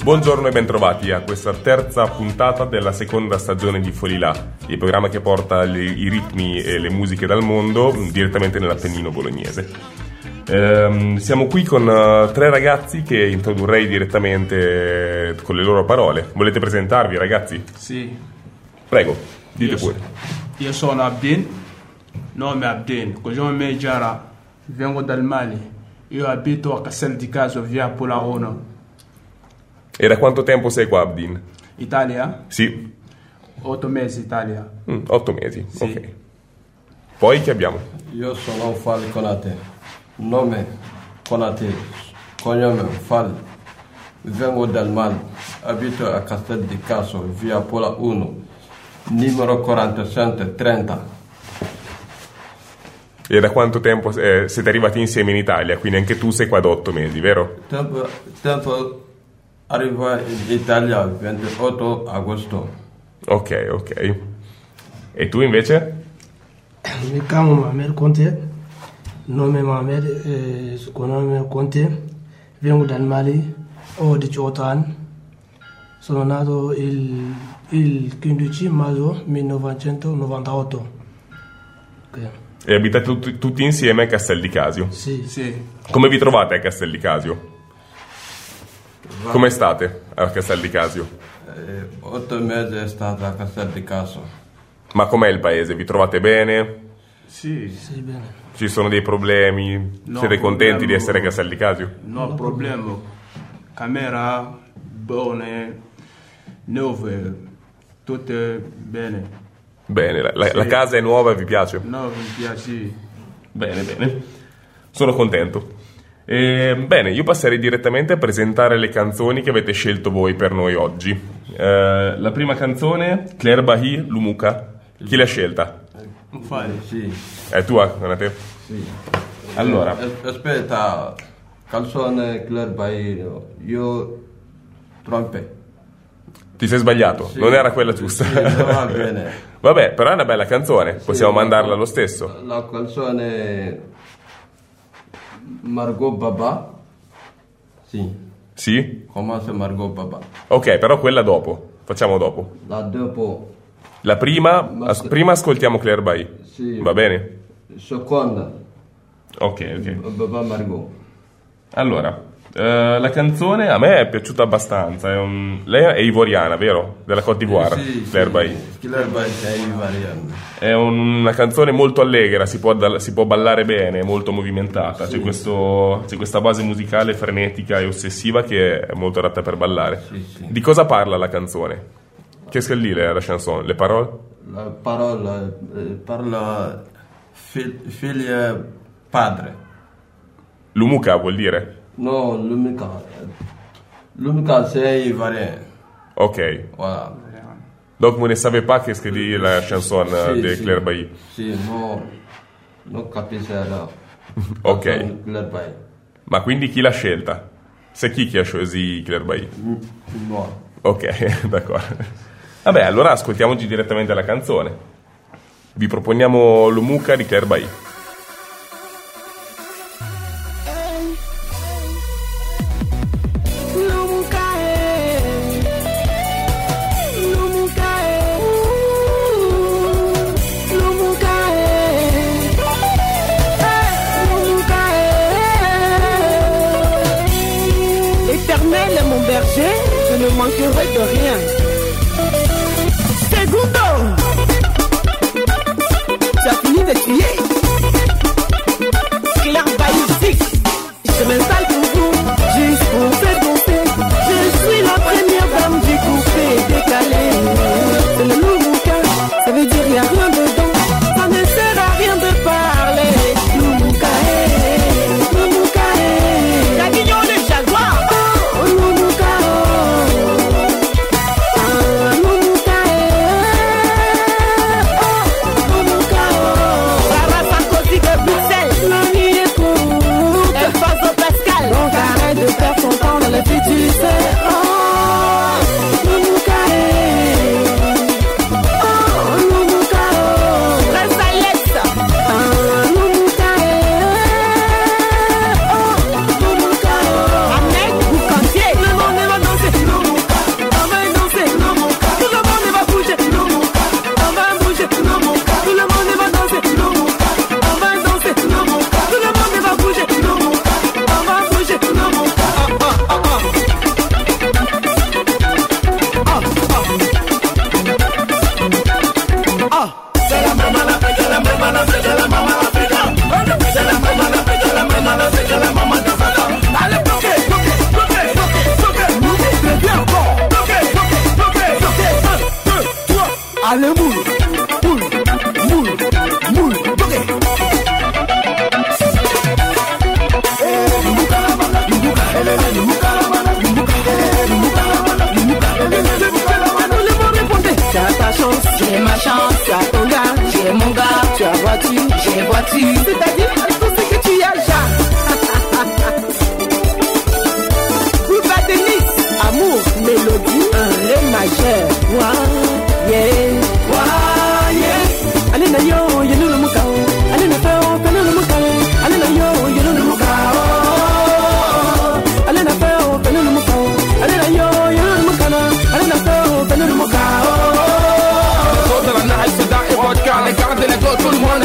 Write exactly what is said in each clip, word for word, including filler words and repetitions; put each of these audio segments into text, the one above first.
Buongiorno e bentrovati a questa terza puntata della seconda stagione di Folilà, il programma che porta le, i ritmi e le musiche dal mondo direttamente nell'Appennino bolognese. Ehm, siamo qui con uh, tre ragazzi che introdurrei direttamente con le loro parole. Volete presentarvi, ragazzi? Sì. Prego, dite io pure. So, io sono Abdin, nome Abdin, cognome Mejara, vengo dal Mali. Io abito a Castel di Caso, via Polarono. E da quanto tempo sei qua, Abdin? Italia? Sì. Otto mesi Italia. Mm, otto mesi, sì. Ok. Poi che abbiamo? Io sono Fall Konate, nome Konate, cognome Fall, vengo dal Mali, abito a Castel di Caso, via Pola uno, numero quarantasette trenta. E da quanto tempo eh, siete arrivati insieme in Italia? Quindi anche tu sei qua da otto mesi, vero? Tempo, tempo arriva in Italia il ventotto agosto. Ok, ok. E tu invece? Mi chiamo Mohamed Conte, nome Mohamed, eh, cognome Conte, vengo dal Mali, ho diciotto anni, sono nato il, il quindici maggio millenovecentonovantotto. Okay. E abitate tutti, tutti insieme a Castel di Casio? Sì. Sì. Come vi trovate a Castel di Casio? Come state a Castel di Casio? Eh, otto mesi è stata a Castel di Caso. Ma com'è il paese? Vi trovate bene? Sì. Sì, bene. Ci sono dei problemi? No, Siete contenti problema. di essere a Castel di Casio? No problema. Camera, buone, nuove, tutte bene. Bene, la, la, Sì. la casa è nuova e vi piace? No, mi piace. Bene, bene. Sono contento. E, bene, io passerei direttamente a presentare le canzoni che avete scelto voi per noi oggi. Eh, la prima canzone, Claire Bahi, Lumuka. Chi l'ha scelta? Fai. Sì, È tua, Konate? sì. Allora. Eh, aspetta, canzone Claire Bairro, io trompe. Ti sei sbagliato, Sì. non era quella giusta. Sì, non va bene. Vabbè, però è una bella canzone, possiamo Sì, mandarla la- lo stesso. La canzone Margot Baba. Sì, Sì? comincia Margot Baba. Ok, però quella dopo, facciamo dopo. La dopo, La prima, Ma- as- prima ascoltiamo Claire Bahi. sì. Va bene? Seconda, Ok, ok. Baba Margot. Allora, eh, la canzone a me è piaciuta abbastanza. È un- Lei è ivoriana, vero? Della Côte d'Ivoire, Sì, Claire sì. Bahi. Claire Bahi è ivoriana. È una canzone molto allegra, si può, dal- si può ballare bene, molto movimentata. Sì. C'è, questo- c'è questa base musicale frenetica e ossessiva che è molto adatta per ballare. Sì, sì. Di cosa parla la canzone? Qu'est-ce qu'elle dit la chanson? Le parole? La parola eh, parla fi- figlia padre. Lumuka vuol dire? No, l'unica. L'unica c'est ivoirien. Ok. Voilà. Donc vous ne savez pas qu'est-ce que dit la chanson euh, Sì, de sì. Claire Bahi? Sì, no, non capisco la Ok. canzone Claire Bahi. Ma quindi chi l'ha scelta? C'est chi che ha choisi Claire Bahi? No. Ok, d'accordo. Vabbè, allora ascoltiamoci direttamente la canzone. Vi proponiamo Lumuka di Claire Bahi. L'Éternel est mon berger, je ne manquerai de rien. Segundo, tu as fini de crier. Claire Bahi six, je m'installe pour vous, juste pour faire danser. Je suis la première dame du coupé décalé. C'est le Lumuka, ça veut dire y'a rien dedans. Ça ne sert à rien de parler. Lumuka, eh, Lumuka, eh. La guignol le jaguar. Oh, Lumuka, oh. Ah, Lumuka, eh. Oh, Lumuka, oh. Sarah Sarkozy de Bruxelles. La vie est courte. Elle passe au Pascal.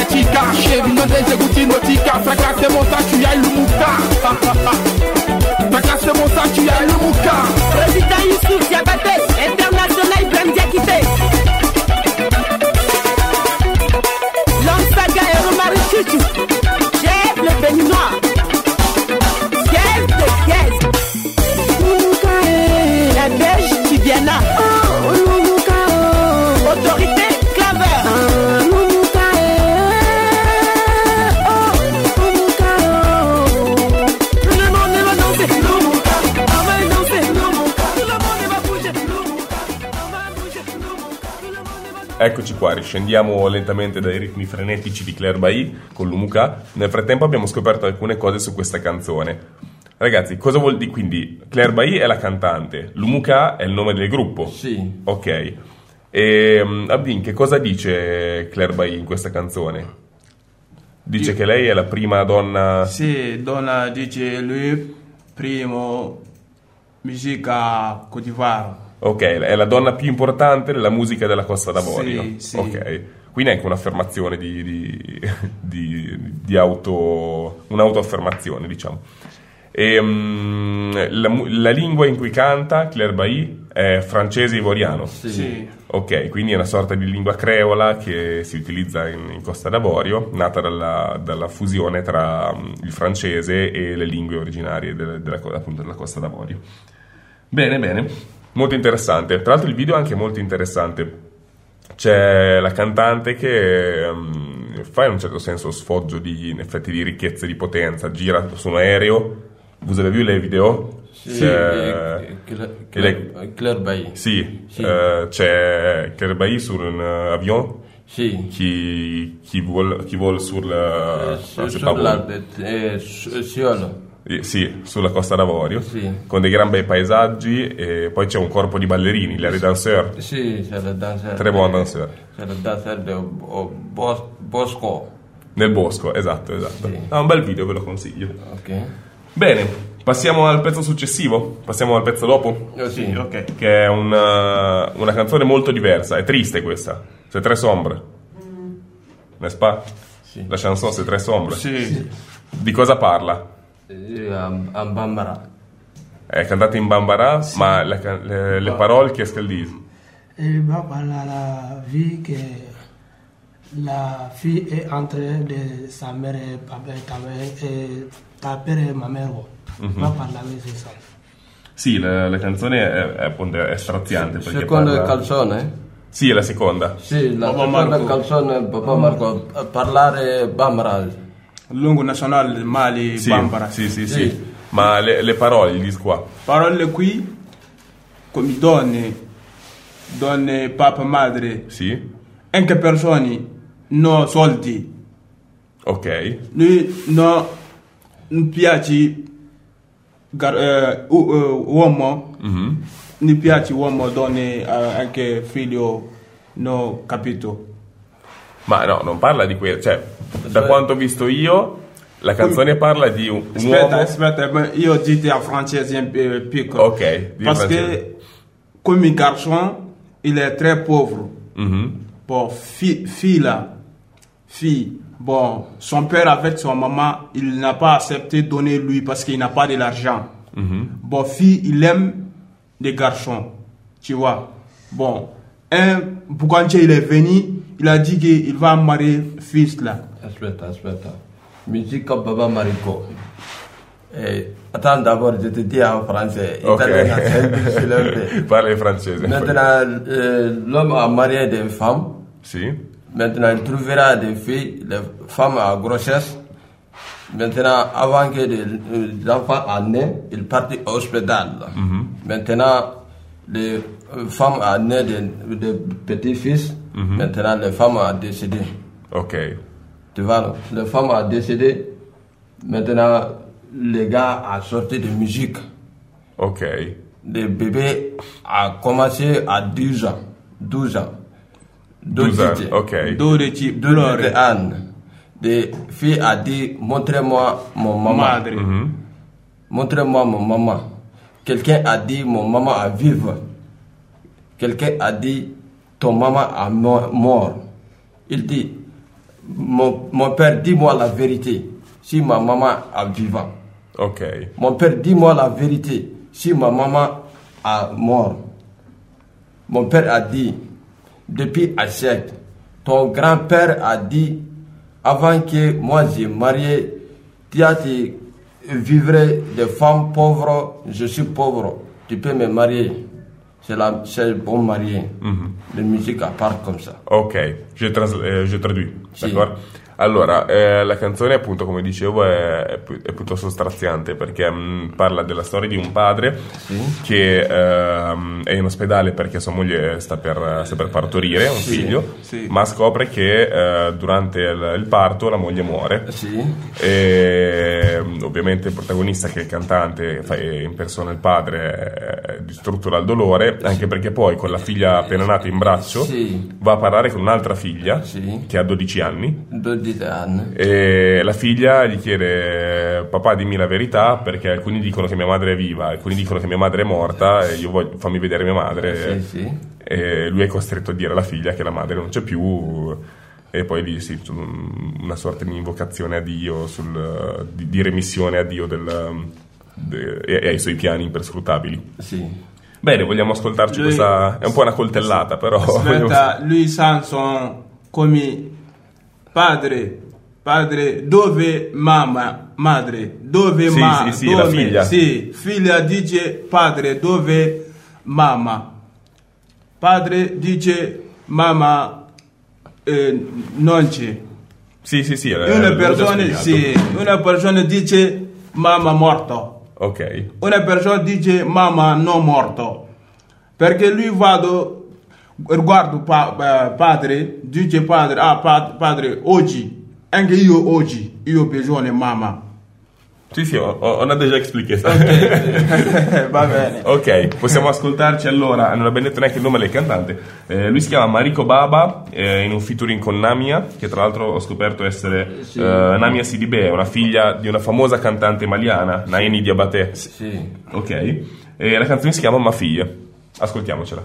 chica, chérie, non des goutines notica, fracasse mon sac, tu y as le mouka. Fracasse mon sac, tu y as le mouka. Président Youssouf Diabaté, international Ibrahim Diakité. L'homme saga et Romari Chuchu, chef le béninois. Yes, yes. La Belge Tibiana. Autorité Claver. Eccoci qua, riscendiamo lentamente dai ritmi frenetici di Claire Bailly con l'Umuka. Nel frattempo abbiamo scoperto alcune cose su questa canzone. Ragazzi, cosa vuol dire? Quindi Claire Bailly è la cantante, l'Umuka è il nome del gruppo? Sì. Ok. E Abdin, che cosa dice Claire Bailly in questa canzone? Dice Io... che lei è la prima donna... Sì, donna dice lui, primo musica Côte d'Ivoire. Ok, è la donna più importante della musica della Costa d'Avorio. Sì, sì. Ok, quindi è anche un'affermazione di, di, di, di auto, un'autoaffermazione, diciamo. E, um, la, la lingua in cui canta Claire Bailly è francese ivoriano. Sì. Sì. Ok, quindi è una sorta di lingua creola che si utilizza in, in Costa d'Avorio, nata dalla, dalla fusione tra um, il francese e le lingue originarie della, della, appunto, della Costa d'Avorio. Bene, bene. Molto interessante. Tra l'altro il video è anche molto interessante. C'è la cantante che um, fa in un certo senso sfoggio di, in effetti, di ricchezza e di potenza. Gira su un aereo. Vous avez vu les vidéos? Sì, eh, Claire, Claire, Claire Bailly. Sì, sì. Eh, c'è Claire Bailly su un uh, avion. Sì. Chi, chi vuole chi vuole sul... Eh, su, sulla, eh, su, su, Sì, sulla Costa d'Avorio, sì. Con dei gran bei paesaggi e poi c'è un corpo di ballerini, les danseurs. Sì, c'è il danseur. Tre buoni danseur. C'è il danseur del bos, Bosco. Nel bosco, esatto, esatto. Sì. Ah, un bel video, ve lo consiglio. Ok. Bene, passiamo al pezzo successivo, passiamo al pezzo dopo. Oh, sì, ok. Che è una, una canzone molto diversa, è triste questa. C'est très sombre. N'est-ce pas? Sì. La chanson c'est très sombre. Sì. Sì. Di cosa parla? En Bambara. È cantata in Bambara, sì. Ma le, le, le parole qu'est-ce qu'elles disent? Il va parler la vie que la fille est entre de sa mère et papa et ta mère et ta père et ma mère. Mm-hmm. Va parlare di ça. Sì, la, la canzone è, è, è straziante. Sì, seconda parla... canzone? Sì, è la seconda. Sì, la Papa seconda Marco. canzone, Papa Marco, parlare Bambara. Lungo nazionale Mali, sì, Bambara. Sì, sì, sì, sì. sì. Ma le, le parole, gli dico qua. Parole qui, come donne, donne, papà, madre. Sì. Anche persone, no soldi. Ok. Noi no, non piace gar, eh, uh, uh, uomo, mm-hmm. Mi piace uomo, donne, uh, anche figlio, no capito. Ma no, non parla di quello, cioè, da quanto ho visto io, la canzone parla di un, un aspetta, uomo... Aspetta, io dite en français un peu piccolo. Ok, parce francese. que comme garçon, il est très pauvre. Mm-hmm. Bon, fille, fille là, fille, bon, son père avec son maman, il n'a pas accepté de donner lui parce qu'il n'a pas de l'argent. Mm-hmm. Bon, fille, il aime les garçons, tu vois. Bon, un Bouganché, il est venu, il a dit qu'il va marier fils là. Aspetta, aspetta. Musique comme Baba Mariko. Eh, attends d'abord, je te dis en français. Ok. Parle in francese. Maintenant, euh, l'homme a marié des femmes. Si. Maintenant, il trouvera des filles, les femmes à grossesse. Maintenant, avant que les enfants en aient, il partit au hospital. Mm-hmm. Maintenant, les femmes ont né des, des petits-fils. Mm-hmm. Maintenant, les femmes ont décédé. Ok. Tu vois, non? Les femmes ont décédé. Maintenant, les gars ont sorti de musique. Ok. Le bébé a commencé à douze ans. douze ans. douze ans, ok. douze ans. Les filles a dit, montrez-moi mon maman. Mm-hmm. Montrez-moi mon maman. Quelqu'un a dit, mon maman a vivre. Quelqu'un a dit, ton maman a mort. Il dit, mon, mon père, dis-moi la vérité. Si ma maman est vivante. Ok. Mon père, dis-moi la vérité. Si ma maman est morte. Mon père a dit, depuis un siècle, ton grand-père a dit, avant que moi j'ai marié, tu as dit, vivre des femmes pauvres, je suis pauvre, tu peux me marier. C'est la c'est bon marié. Mm-hmm. La musique à part comme ça. Ok, je, trans- eh, je traduis, sì. D'accordo? Allora, eh, la canzone appunto, come dicevo, è, è, è piuttosto straziante perché mh, parla della storia di un padre sì. che ehm, è in ospedale perché sua moglie sta per, sta per partorire un sì. figlio, Sì. ma scopre che eh, durante il, il parto la moglie muore. Sì. E ovviamente il protagonista, che è il cantante, fa, impersona il padre, è distrutto dal dolore, anche perché poi con la figlia appena nata in braccio sì. va a parlare con un'altra figlia sì. che ha dodici anni. dodici anni. E la figlia gli chiede: papà, dimmi la verità, perché alcuni dicono che mia madre è viva, alcuni dicono che mia madre è morta, e io voglio, fammi vedere mia madre. Sì, sì. E lui è costretto a dire alla figlia che la madre non c'è più, e poi lì sì, una sorta di invocazione a Dio, sul, di, di remissione a Dio del, de, e ai suoi piani imperscrutabili. Sì. Bene, vogliamo ascoltarci Lui, questa, è un po' una coltellata, però aspetta, lui Samson come padre, padre, dove mamma, madre, dove sì, ma, sì, sì, dove, la figlia. sì, figlia dice padre, dove mamma, padre dice mamma, eh, non c'è. sì, sì, sì, Una persona, sì, una persona dice mamma morto. Ok. Una persona dice mamma non morto. Perché lui vado, guardo pa, padre, dice padre, ah pa, padre, oggi, anche io oggi, io ho bisogno di mamma. Sì, sì, ho, ho una déjà expliqué. Ok, va bene. Ok, possiamo ascoltarci allora. Non abbiamo detto neanche il nome del cantante. Eh, lui si chiama Mariko Baba, eh, in un featuring con Namia, che tra l'altro ho scoperto essere sì. eh, Namia Sidibé, una figlia di una famosa cantante maliana, Naini Diabaté. Sì. Ok, e la canzone si chiama Ma figlie. Ascoltiamocela.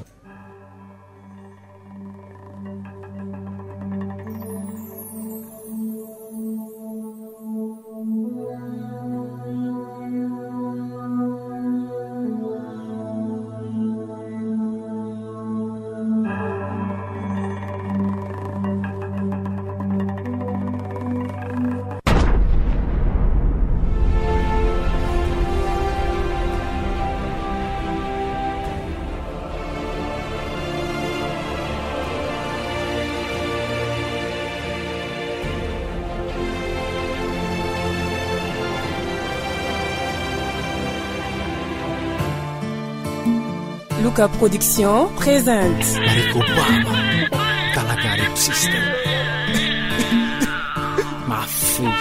Luca Production présente Mariko Baba, Kalagari System. Ma fille.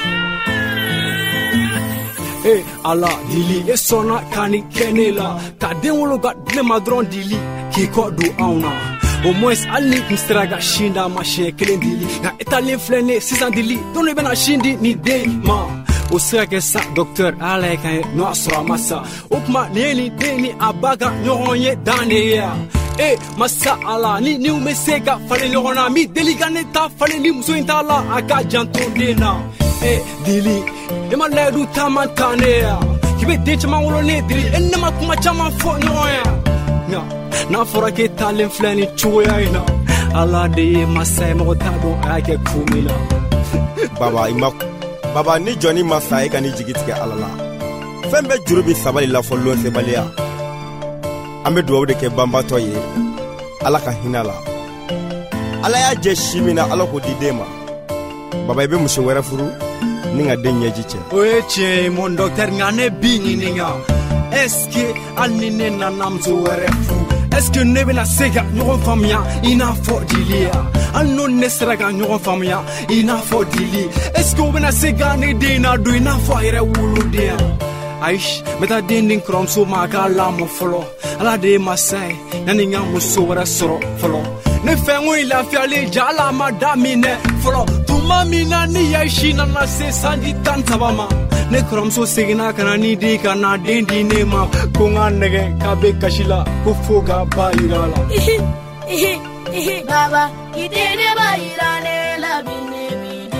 Hey, Allah, dili, e sona kani kenela. Ta denwolo ga dlema dron dili, ki ko du auna. Au moins, Ali Mistraga Shinda, machin, kelen dili. Na etale flene, sisan dili, donne bena shindi ni de ma. O sera que ça, docteur, allez, quand nous assurons massa. Oupma, neni, deni, abaga, n'yonye, daneya. Eh, massa, ala, ni, ni, ou mesega, fallait le ronami, deliganeta, fallait ni, mousso, intala, aga, janton, dena. Eh, dili, ema, ledu, tamantanea. Kibe, de, chama, ulone, dili, enema, kuma, chama, fo, nyoya. Na, na, fora, ke, talen, flani, chuya, ina. Ala, de, massa, mo, tabo, ake, kumila. Baba, ima. Baba ni Johnny Massa e ka ni jigi tigɛ Ala la. Fɛn bɛɛ juru bi sabali la fɔ lon sebaliya. An bɛ duwawu de kɛ banbatɔ ye. Ala ka hinɛ la. Ala y'a jɛ si min na Ala k'o di den ma. Baba i bɛ muso wɛrɛ furu ni ka den ɲɛji cɛ. O ye tiɲɛ ye mon docteur nka ne bi ɲininka. Est-ce que hali ni ne nana muso wɛrɛ furu? Est-ce que ne bɛna se ka ɲɔgɔn faamuya i n'a fɔ dili ya? Hali n'o ne sera ka ɲɔgɔn faamuya i n'a fɔ dili. Est-ce que o bɛna se ka ne den na don i n'a fɔ a yɛrɛ woloden ya? Ayi, n bɛ taa den di n kɔrɔmuso ma a k'a lamɔ fɔlɔ. Ala de ye masa ye, yanni n ka muso wɛrɛ sɔrɔ fɔlɔ. Ne fɛn ko in lafiyalen ja Ala ma daminɛ fɔlɔ. Tuma min na ni Yaisi nana se sanji tan saba ma. Ne kɔrɔmuso seginna ka na ni den ka na den di ne ma. Ko n ka nɛgɛ k'a bɛ kasi la ko fo ka ba yira la. Baba, ite ne ba yira ne la bi ne bi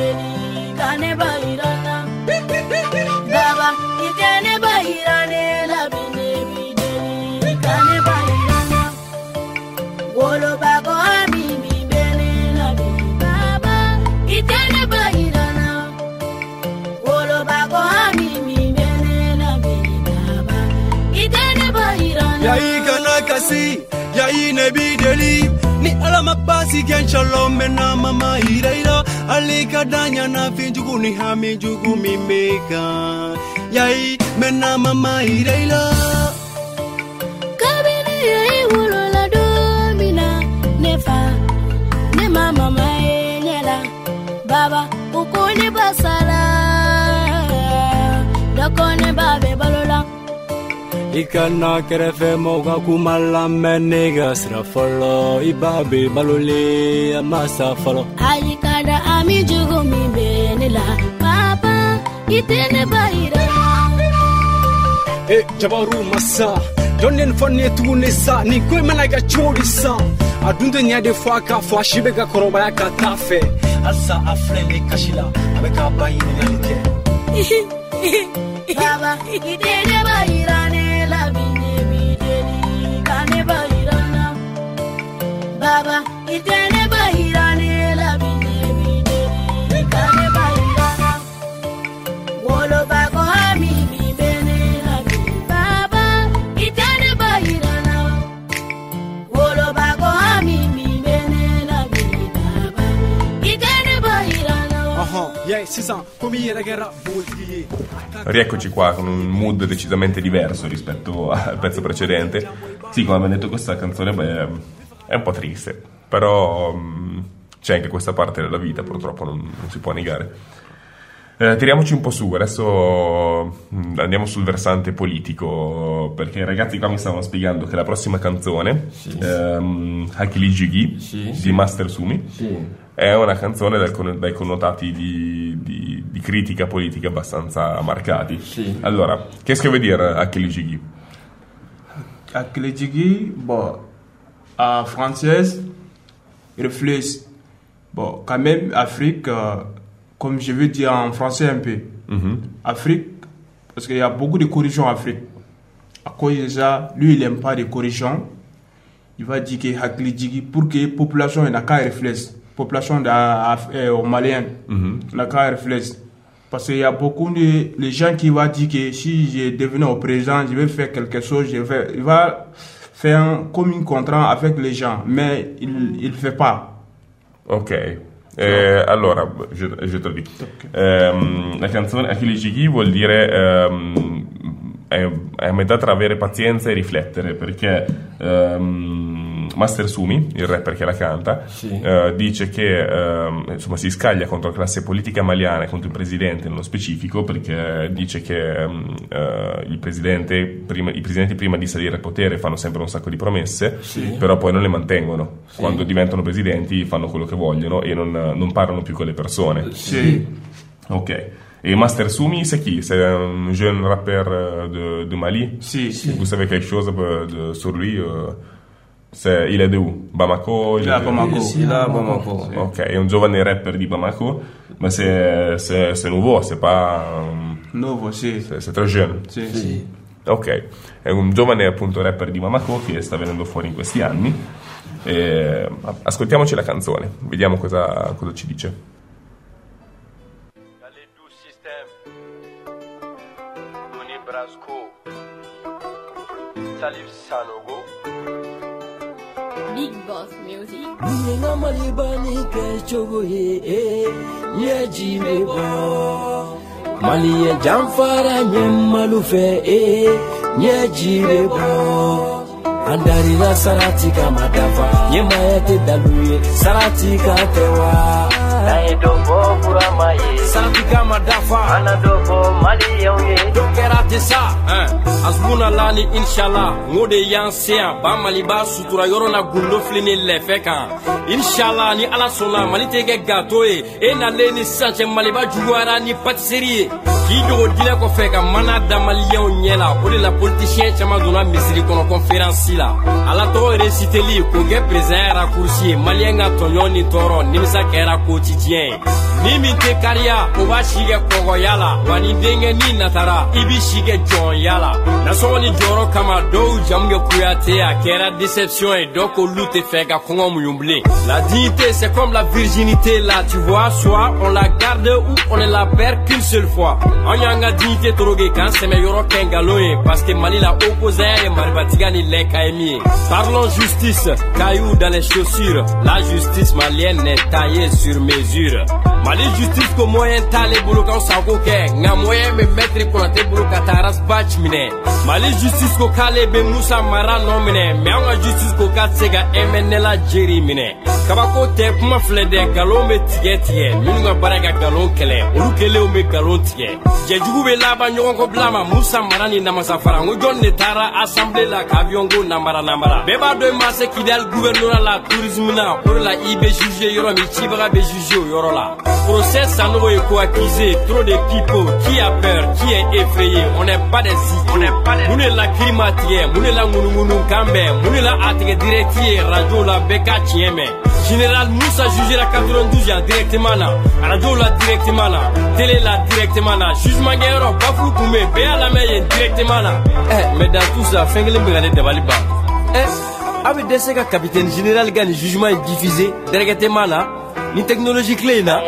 yayi kana kasi yayi nabi deli ni alama basi gen shalom mena mama iraira ali kadanya na finjugu ni hami jugu mi meka yayi mena mama iraira kabini yayi wolola domina nefa ne mama mayenela baba ukuni basala dakone babe balola ikana kerefe moga kumala menega srafolo ibabe balole amasa folo ayikada ami jugo mi benela papa itene baira eh jabaru masa donnen fonne tunisa ni koy malaga chodisa adunde nya de fois ka fois shibe ga koroba ya ka tafe asa afrele kashila abeka bayini yalike baba itene baira Baba, itene bahirane la bine bine itene bahirana wolo bako hami bine la bine Baba, itene bahirana wolo bako hami bine la bine Baba, itene bahirana. Aha, yeah, si sa, come era che era bugie. Rieccoci qua con un mood decisamente diverso rispetto al pezzo precedente. Sì, come abbiamo detto, questa canzone beh, è un po' triste, però mh, c'è anche questa parte della vita, purtroppo non, non si può negare. Eh, tiriamoci un po' su, adesso mh, andiamo sul versante politico, perché i ragazzi qua mi stavano spiegando che la prossima canzone, sì. ehm, Hakili Jigi, sì, di sì. Master Sumi, sì. è una canzone dal, dai connotati di, di, di critica politica abbastanza marcati. Sì. Allora, qu'est-ce que veut dire Hakili Jigi? Hakili Jigi, bon, en française, reflète, bon, quand même, Afrique, euh, comme je veux dire en français un peu, mm-hmm. Afrique, parce qu'il y a beaucoup de corruption en Afrique. À cause de ça, lui, il n'aime pas de corruption. Il va dire que Hakili Jigi, pour que la population n'a qu'à réfléchir, population euh, malienne mm-hmm. n'a qu'à réfléchir. Parce qu'il y a beaucoup de les gens qui vont dire que si je devenais au président, je vais faire quelque chose, je vais, il va faire un, comme un contrat avec les gens, mais il ne fait pas. Ok. Eh, allora, je, je te lo dico. Okay. Um, la canzone Hakili Jigi vuol dire um, è, è a metà tra avere pazienza e riflettere, perché um, Master Sumi, il rapper che la canta, sì. uh, dice che uh, insomma si scaglia contro la classe politica maliana e contro il presidente nello specifico, perché dice che um, uh, il presidente prima, i presidenti prima di salire al potere fanno sempre un sacco di promesse, sì. però poi non le mantengono. Sì. Quando diventano presidenti fanno quello che vogliono e non, non parlano più con le persone. Sì. Ok. Et Master Sumi, c'est qui? C'est un jeune rappeur de, de Mali? Si, si. Vous savez quelque chose de, sur lui? C'est, il est de où? Bamako? Il est à Bamako. Il est à Bamako. Ok, è un giovane rapper di Bamako, ma c'est, c'est, c'est nouveau, c'est pas... Nuovo, sì. C'est, c'est très jeune. Sì, sì. Ok, è un giovane appunto rapper di Bamako che sta venendo fuori in questi anni. E ascoltiamoci la canzone, vediamo cosa, cosa ci dice. Salif Sanogo Big Boss Music. Nina malibani ke chogo ye ye jibe bo Mali ye jamfara nyem malufe e ye jibe bo Andari la sarati kama dafa ye mayete daluye sarati katewa Nae dobo kurama ye sarati kama dafa ana dobo mali yonge dokerate sa eh asbuna lani inshallah ngode yansia ba mali ba sutura yoro na gundo flini lefe kan inshallah ni ala sona mali tege gato e e na leni sanche mali ba juwara ni patisserie ki dogo dile ko fe ka mana da malion nyela o de la politicien chama dona misiri kono conférence la ala to reciter li ko ge président raccourci malien ga tonyo ni toro ni misa kera ko quotidien ni min tɛ kariya o b'a si kɛ kɔgɔya la wa ni denkɛ ni natara i bi si kɛ jɔnya la nasɔngɔ ni jɔyɔrɔ kama dɔw jamu kɛ kuyate a kɛra déception ye dɔw k'olu tɛ fɛ ka kɔngɔ muɲu bilen. La dignité c'est comme la virginité là tu vois, soit on la garde ou on ne la perd qu'une seule fois. An y'an ka dignité toroge k'an sɛmɛ yɔrɔ kɛ ngalon ye parce que Mali la opposant ye maribatiga ni lɛn ka ye min ye. Parlons justice, cailloux dans les chaussures. La justice malienne est taillée sur mesure. Mali justice ko moyen t'ale bolo kan sago kɛ nka moyen bɛ maître Konate bolo ka taa rasbatch minɛ. Mali justice ko k'ale bɛ Musa Mara nɔ minɛ mais an ka justice ko k'a tɛ se ka M N L jeri minɛ. Kabako tɛ kuma filɛ dɛ nkalon bɛ tigɛ tigɛ minnu ka baara ka nkalon kɛlɛ olu kelenw bɛ nkalon tigɛ. Jɛjugu bɛ laban ɲɔgɔn kɔ bila ma Musa Mara ni Namasa Fara n ko jɔn de taara assemblée la ka avion ko namara namara. Bɛɛ b'a dɔn i ma se Kidal gouvernorat la tourisme na o de la i bɛ juger yɔrɔ min cibaga bɛ juger o yɔrɔ la. Procès Sanogo est co-accusé, trop de people, qui a peur, qui est effrayé, on n'est pas des idiots. On n'est pas des idiots. Moune la climatier, moune la ngounougounou kambe, moune la atege directier, radio la beka tieme. Général Moussa jugé la quatre-vingt-douze ans directement là, radio la directement là, télé la directement là, jugement guerre, bafou koumé, béa la main directement là. Eh, mais dans tout ça, fengele mbegane de Baliba. Eh, avec des séquelles capitaine général gagne jugement est diffusé directement là. Ni technologie clé na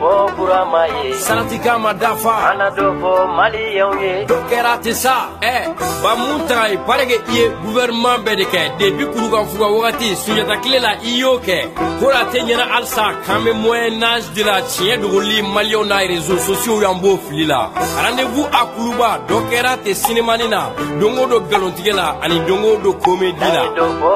Salatika Madafa Anadofo Mali yonge Dokera tesa eh ba munta i parege iye gouvernement bedeke depuis kuruga fuga wakati sunyata clé la iyoke kora tenyana alsa kame moyen âge de la tien de roli Malion na réseaux sociaux yambo filila rendez-vous à Kuluba Dokera te cinéma nina dongo do galontigela ani dongo do comédie la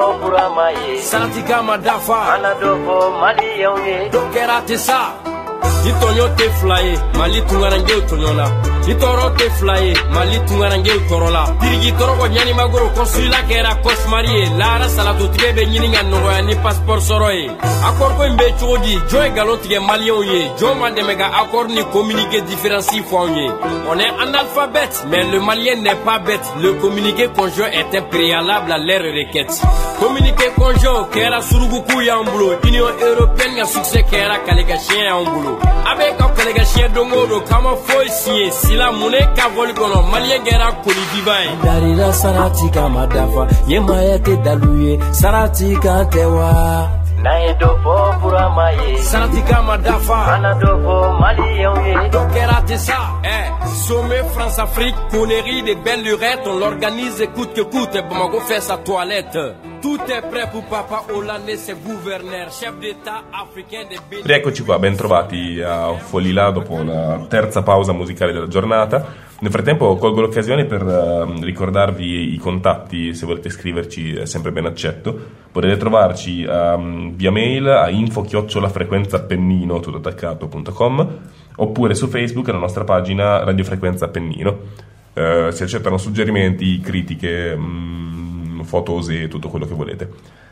Salatika Madafa Anadofo Mali yonge Dokera tesa Ni tonyo te flyé Mali tungarange utonyona Ni toro te flyé Mali tungarange utorola Dirigi toro ko nyani magoro Konsula kera kos marie Lara salatu tige be nyini nga noroya Ni passeport soroye Akor ko imbe chodi Joe galon tige malion ye Joe mandemega akor ni communiqué différencie foanye On est analphabète Mais le malien n'est pas bête Le communiqué conjoint est un préalable à leur requête Communiqué conjoint Kera suruguku ya mbulo Union européenne Nga succès kera kalega chien ya mbulo Avec un collègue chien dongodo Kama foi signé Si la monnaie ka voli kono Malien gera koli divine Darira Saratika Madafa Yema yete daluye Saratika tewa Nae dofo puramaye Saratika Madafa Anadofo Mali yonge Dokera tesa Eh Sommet France-Afrique Connerie des belles lurettes On l'organise coûte que coûte Bamako fait sa toilette Tout è prêt pour Papa Olandese gouverneur, chef d'état africain de Benin. Rieccoci qua, ben trovati a Folilà dopo la terza pausa musicale della giornata. Nel frattempo colgo l'occasione per uh, ricordarvi i contatti, se volete scriverci è sempre ben accetto. Potete trovarci um, via mail a info chiocciola frequenza appennino tutto attaccato punto com oppure su Facebook alla nostra pagina Radio Frequenza Appennino. Uh, si accettano suggerimenti, critiche, mh, fotose e tutto quello che volete.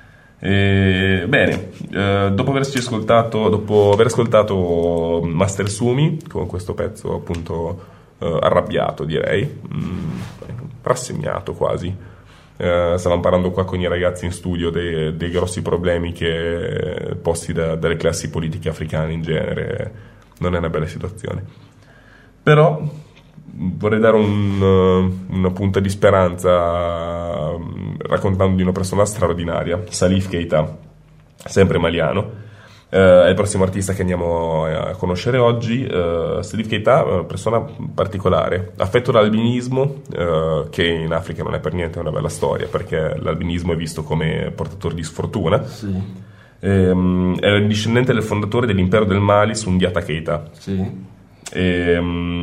E, bene, eh, dopo averci ascoltato, dopo aver ascoltato Master Sumi con questo pezzo appunto eh, arrabbiato, direi, mh, rassegnato quasi. Eh, stavamo parlando qua con i ragazzi in studio dei, dei grossi problemi che posti da, dalle classi politiche africane in genere. Non è una bella situazione, però vorrei dare un, una punta di speranza raccontando di una persona straordinaria, Salif Keita, sempre maliano. Eh, è il prossimo artista che andiamo a conoscere oggi. eh, Salif Keita è una persona particolare, affetto da albinismo, eh, che in Africa non è per niente una bella storia, perché l'albinismo è visto come portatore di sfortuna. Sì. Ehm, è il discendente del fondatore dell'impero del Mali, Sundiata Keita. Sì. E,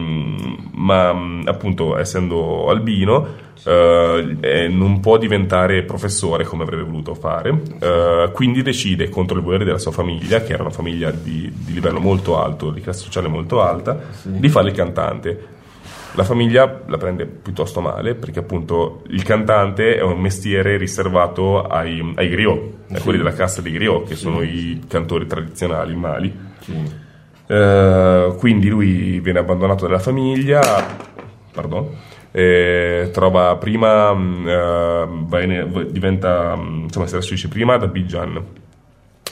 ma appunto essendo albino eh, non può diventare professore come avrebbe voluto fare, eh, quindi decide contro il volere della sua famiglia, che era una famiglia di, di livello molto alto, di classe sociale molto alta, sì, di fare il cantante. La famiglia la prende piuttosto male, perché appunto il cantante è un mestiere riservato ai, ai griot, sì, a quelli della casta dei griot, che sì, sono i cantori tradizionali in Mali. Sì. Uh, quindi lui viene abbandonato dalla famiglia, pardon, e trova prima uh, va in, diventa insomma si trasferisce prima ad Abidjan,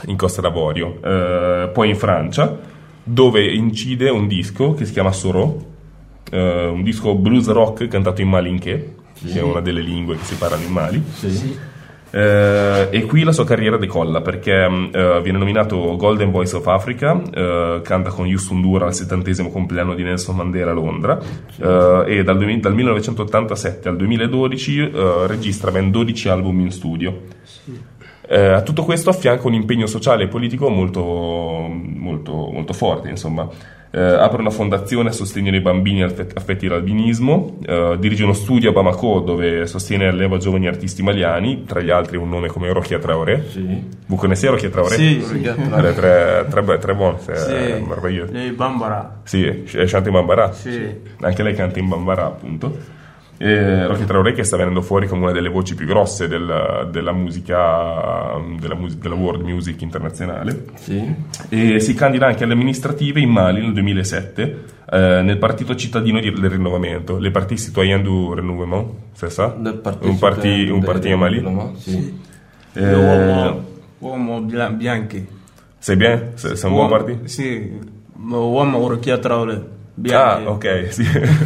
in Costa d'Avorio, eh, poi in Francia, dove incide un disco che si chiama Soro, eh, un disco blues rock cantato in malinché, sì. che è una delle lingue che si parlano in Mali. Sì. Eh, e qui la sua carriera decolla perché eh, viene nominato Golden Voice of Africa, eh, canta con Youssou N'Dour al settantesimo compleanno di Nelson Mandela a Londra, eh, e dal, dal millenovecentottantasette al duemiladodici eh, registra ben dodici album in studio. Eh, a tutto questo affianca un impegno sociale e politico molto, molto, molto forte, insomma. Eh, apre una fondazione a sostegno dei bambini affetti dall'albinismo, eh, dirige uno studio a Bamako dove sostiene e alleva giovani artisti maliani, tra gli altri un nome come Rokia Traoré. Sì. Vous connaissez Rokia Traoré? Sì, sì. Très, très, très, très bon, c'est sì. merveilleux. Lei Bambara. Sì, chanta in Bambara. Sì. Anche lei canta in Bambara, appunto. Eh, Rokia Traoré che sta venendo fuori come una delle voci più grosse del, della musica della, mus- della world music internazionale, sì. E si candida anche alle amministrative in Mali nel duemilasette, eh, nel partito cittadino di, del rinnovamento, le Parti Citoyen du Renouveau, c'est ça? Un parti un parti in Mali, sì. eh, uomo, uomo bianchi. c'est bien? C'est, c'est un buon partito? Sì, uomo Rokia Traoré. Bianchi. Ah, ok, sì.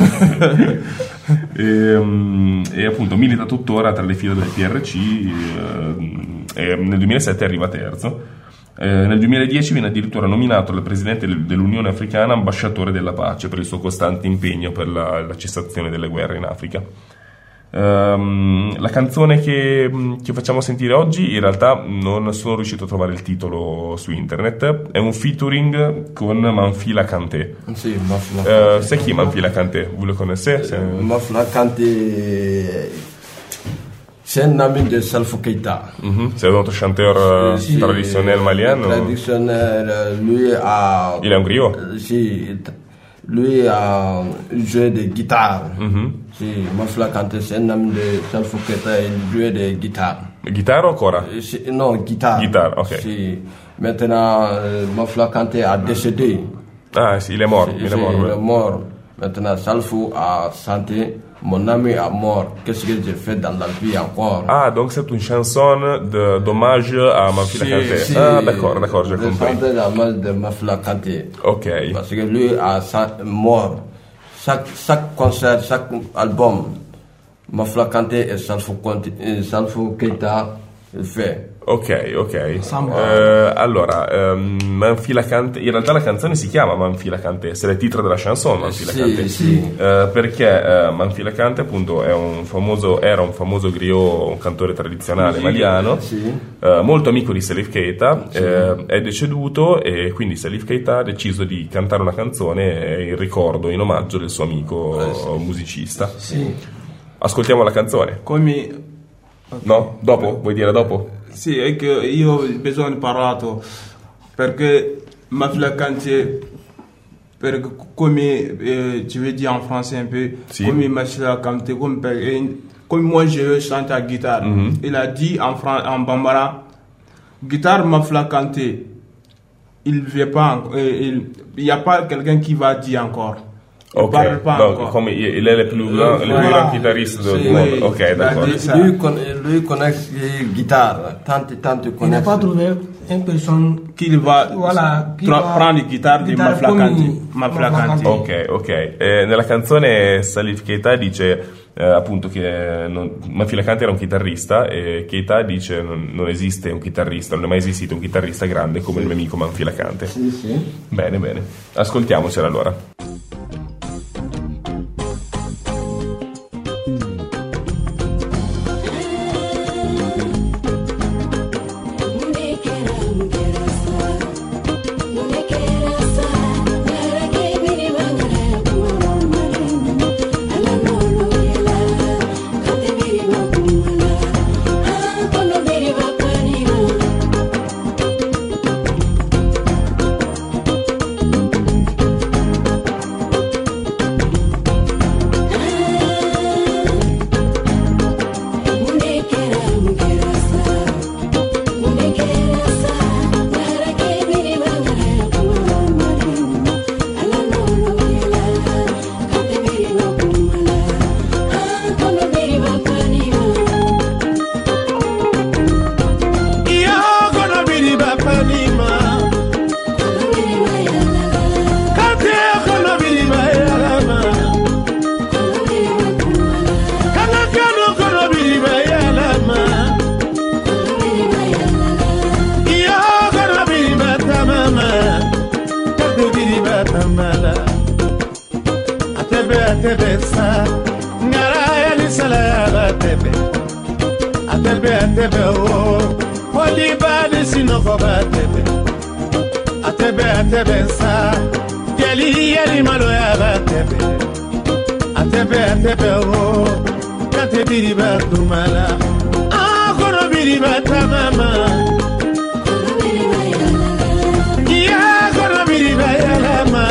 e, um, e appunto milita tuttora tra le file del P R C, eh, e nel duemilasette arriva terzo. Eh, nel duemiladieci viene addirittura nominato dal presidente dell'Unione Africana ambasciatore della pace per il suo costante impegno per la, la cessazione delle guerre in Africa. Um, la canzone che, che facciamo sentire oggi in realtà non sono riuscito a trovare il titolo su internet, è un featuring con Manfila Kanté. Sì, Manfila Kanté. Uh, c'est qui Manfila Kanté? Vous le connaissez? C'est... Manfila Kanté, c'est un ami de Salfo Keita. Mm-hmm. C'est un autre chanteur sì, traditionnel malien? Traditionnel, lui a... Il est un griot? Sì, lui a joué de guitare. Mm-hmm. Sì, Manfila Kanté, c'est un ami de Salfo Keita, il jouait de guitare. Guitare o ancora? Sì, non, guitare. Guitare, ok. Sì. Maintenant, euh, Manfila Kanté a décédé. Ah, sì, il est mort. Il est mort, il est mort. Maintenant, Salfo a chanté Mon ami est mort, qu'est-ce que j'ai fait dans la vie encore? Ah, donc c'est une chanson de, d'hommage à Manfila Kanté. Si, ah, d'accord, d'accord, j'ai compris. C'est d'hommage de Manfila Kanté. Ok. Parce que lui a mort. Chaque, chaque concert, chaque album, Manfila Kanté et Salfo, Salfo Keita fait. Ok, ok. Eh, allora, um, Manfila Kanté, in realtà la canzone si chiama Manfila Kanté, c'est le titre della chanson Manfila sì, Kanté. Sì. Eh, perché eh, Manfila Kanté appunto è un famoso, era un famoso griot, un cantore tradizionale sì, maliano, sì. eh, molto amico di Salif Keita, sì. eh, è deceduto e quindi Salif Keita ha deciso di cantare una canzone in ricordo, in omaggio del suo amico eh, sì. musicista. Sì. Ascoltiamo la canzone. Come... No? Dopo? Vuoi dire dopo? Sì, è che io ho bisogno di parlare perché Manfila Kanté, perché come eh, je vais dire en français un peu, si. Comme Manfila Kanté, comme, comme moi je chante à guitare, mm-hmm. il a dit en, Fran- en Bambara, guitare Manfila Kanté, il ne vient pas, il n'y a pas quelqu'un qui va dire encore. Ok, donc comme il est le plus grand, le plus grand guitariste du sì, monde. Ok, d'accord. Lui, con, lui connaît les guitares, tanti, tanti Il n'a pas trouvé une personne qui va, voilà, qui tra- va prendre le guitare di Manfila Kanté. Manfila Kanté. Ok, ok. Eh, nella canzone Salif Keita dice eh, appunto che non, Manfila Kanté era un chitarrista e Keita dice non, non esiste un chitarrista, non è mai esistito un chitarrista grande come sì. il mio amico Manfila Kanté. Sì, sì. Bene, bene. Ascoltiamocela allora. atebe atebe o Poli bade sinoko batebe Atebe atebe sa Yeli yeli malo ya batebe Atebe atebe o Kate biriba kumala Ah kono biriba tamama Ya kono biriba yalama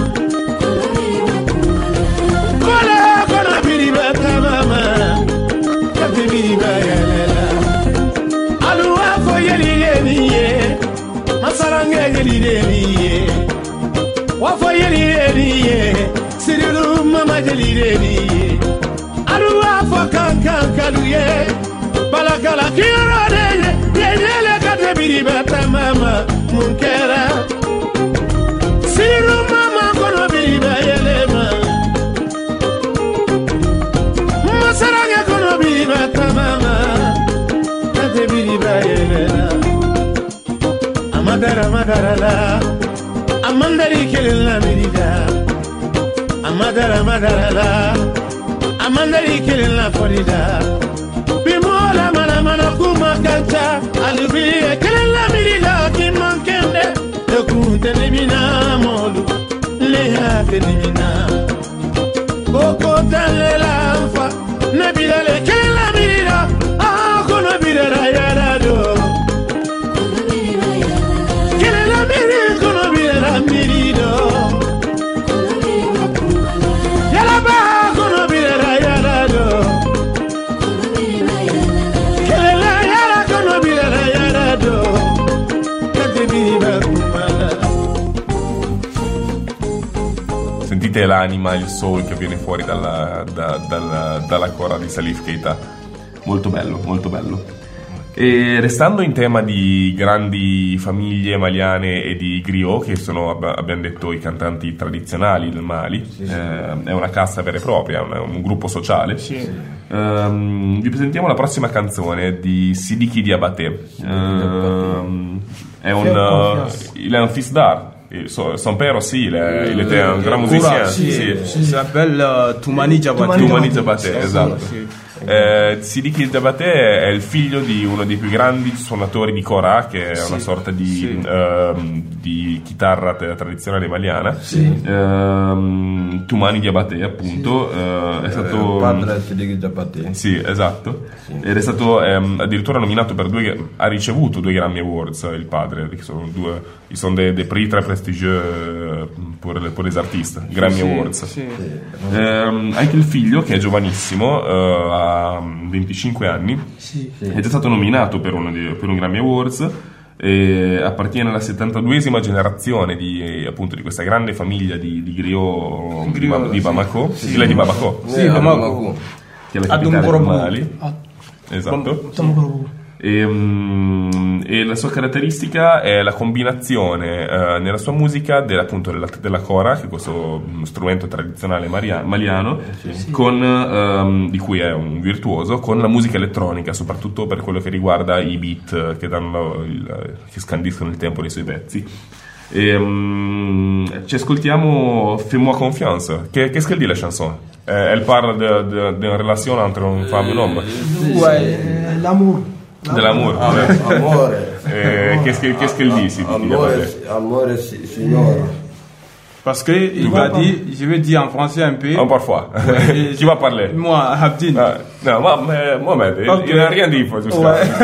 Kola kono biriba tamama Kate biriba yalela Aluwa fo yeli yeli ye Masarange yeli yeli ye Wafo yeli yeli ye Siriru mama yeli yeli ye Aluwa fo kankan kalu ye Balakala kiro de ye Yele kate biriba tamama Munkera Siriru mama kono biriba yelema Masarange kono biriba tamama Kate biriba yelela Amadara madara la Amandari kelila mirida Amadara madara la Amandari kelila forida Bimola mana mana kuma kancha Alubiye kelila mirida Kimankende Ekunte nimina molu Leha kenimina Koko talela anfa Nebila le kelila mirida Ah kono birera yarado Mirido Yalaba kono birera yarado Kelela yara kono birera yarado Kate biriba kumala. Sentite l'anima, il soul che viene fuori dalla, da, dalla, dalla cora di Salif Keita. Molto bello, molto bello. E restando in tema di grandi famiglie maliane e di griot, che sono, abbiamo detto, i cantanti tradizionali del Mali, sì, sì. Eh, è una casta vera e propria, un, un gruppo sociale. Sì. Um, vi presentiamo la prossima canzone di Sidiki Diabaté. Um, è un, uh, il est un fils d'art. Son père aussi, il, est, il était un grand musicien. Sì, sì. Si s'appelle uh, Toumani Diabaté. Toumani Diabaté, esatto. Sì. Eh, Sidiki Diabaté è il figlio di uno dei più grandi suonatori di kora, che è sì, una sorta di, sì. uh, di chitarra tradizionale maliana. Sì. Uh, Toumani Diabaté, appunto, sì. uh, è stato il padre Sidiki Diabaté. Sì, esatto. Sì. Ed è stato um, addirittura nominato per due, ha ricevuto due Grammy Awards il padre, che sono due, sono dei, dei prix très prestigieux per, per les artistes, Grammy sì, Awards. Sì. Sì. Um, anche il figlio, che è giovanissimo, uh, ha venticinque anni, sì, sì. È già stato nominato per un, per un Grammy Awards e appartiene alla settantaduesima generazione di, appunto, di questa grande famiglia di, di griot, griot di, di Bamako, sì, sì, di Bamako, sì, sì, Bamako, che è la capitale del Mali. Esatto. E, um, e la sua caratteristica è la combinazione uh, nella sua musica della, appunto, della, della kora, che è questo strumento tradizionale maria, maliano, sì, sì. Con, um, di cui è un virtuoso, con la musica elettronica, soprattutto per quello che riguarda i beat che, danno il, che scandiscono il tempo dei suoi pezzi. Et, um, ci ascoltiamo Fais-moi confiance. Qu'est-ce qu'elle dit la chanson? Euh, elle parle d'une relation entre une femme et un homme. Ouais, l'amour. De l'amour. Ah, ouais. Amore. Euh, qu'est-ce qu'elle qu'est-ce qu'elle dit, Sidiki Diabaté? Amore, signora. Parce que il va dire, je vais dire en français un peu. Un parfois. Ouais. Qui va parler? Moi, Abdin. Ah, non, moi, mais, Mohamed, okay. Il n'a rien dit pour tout ça.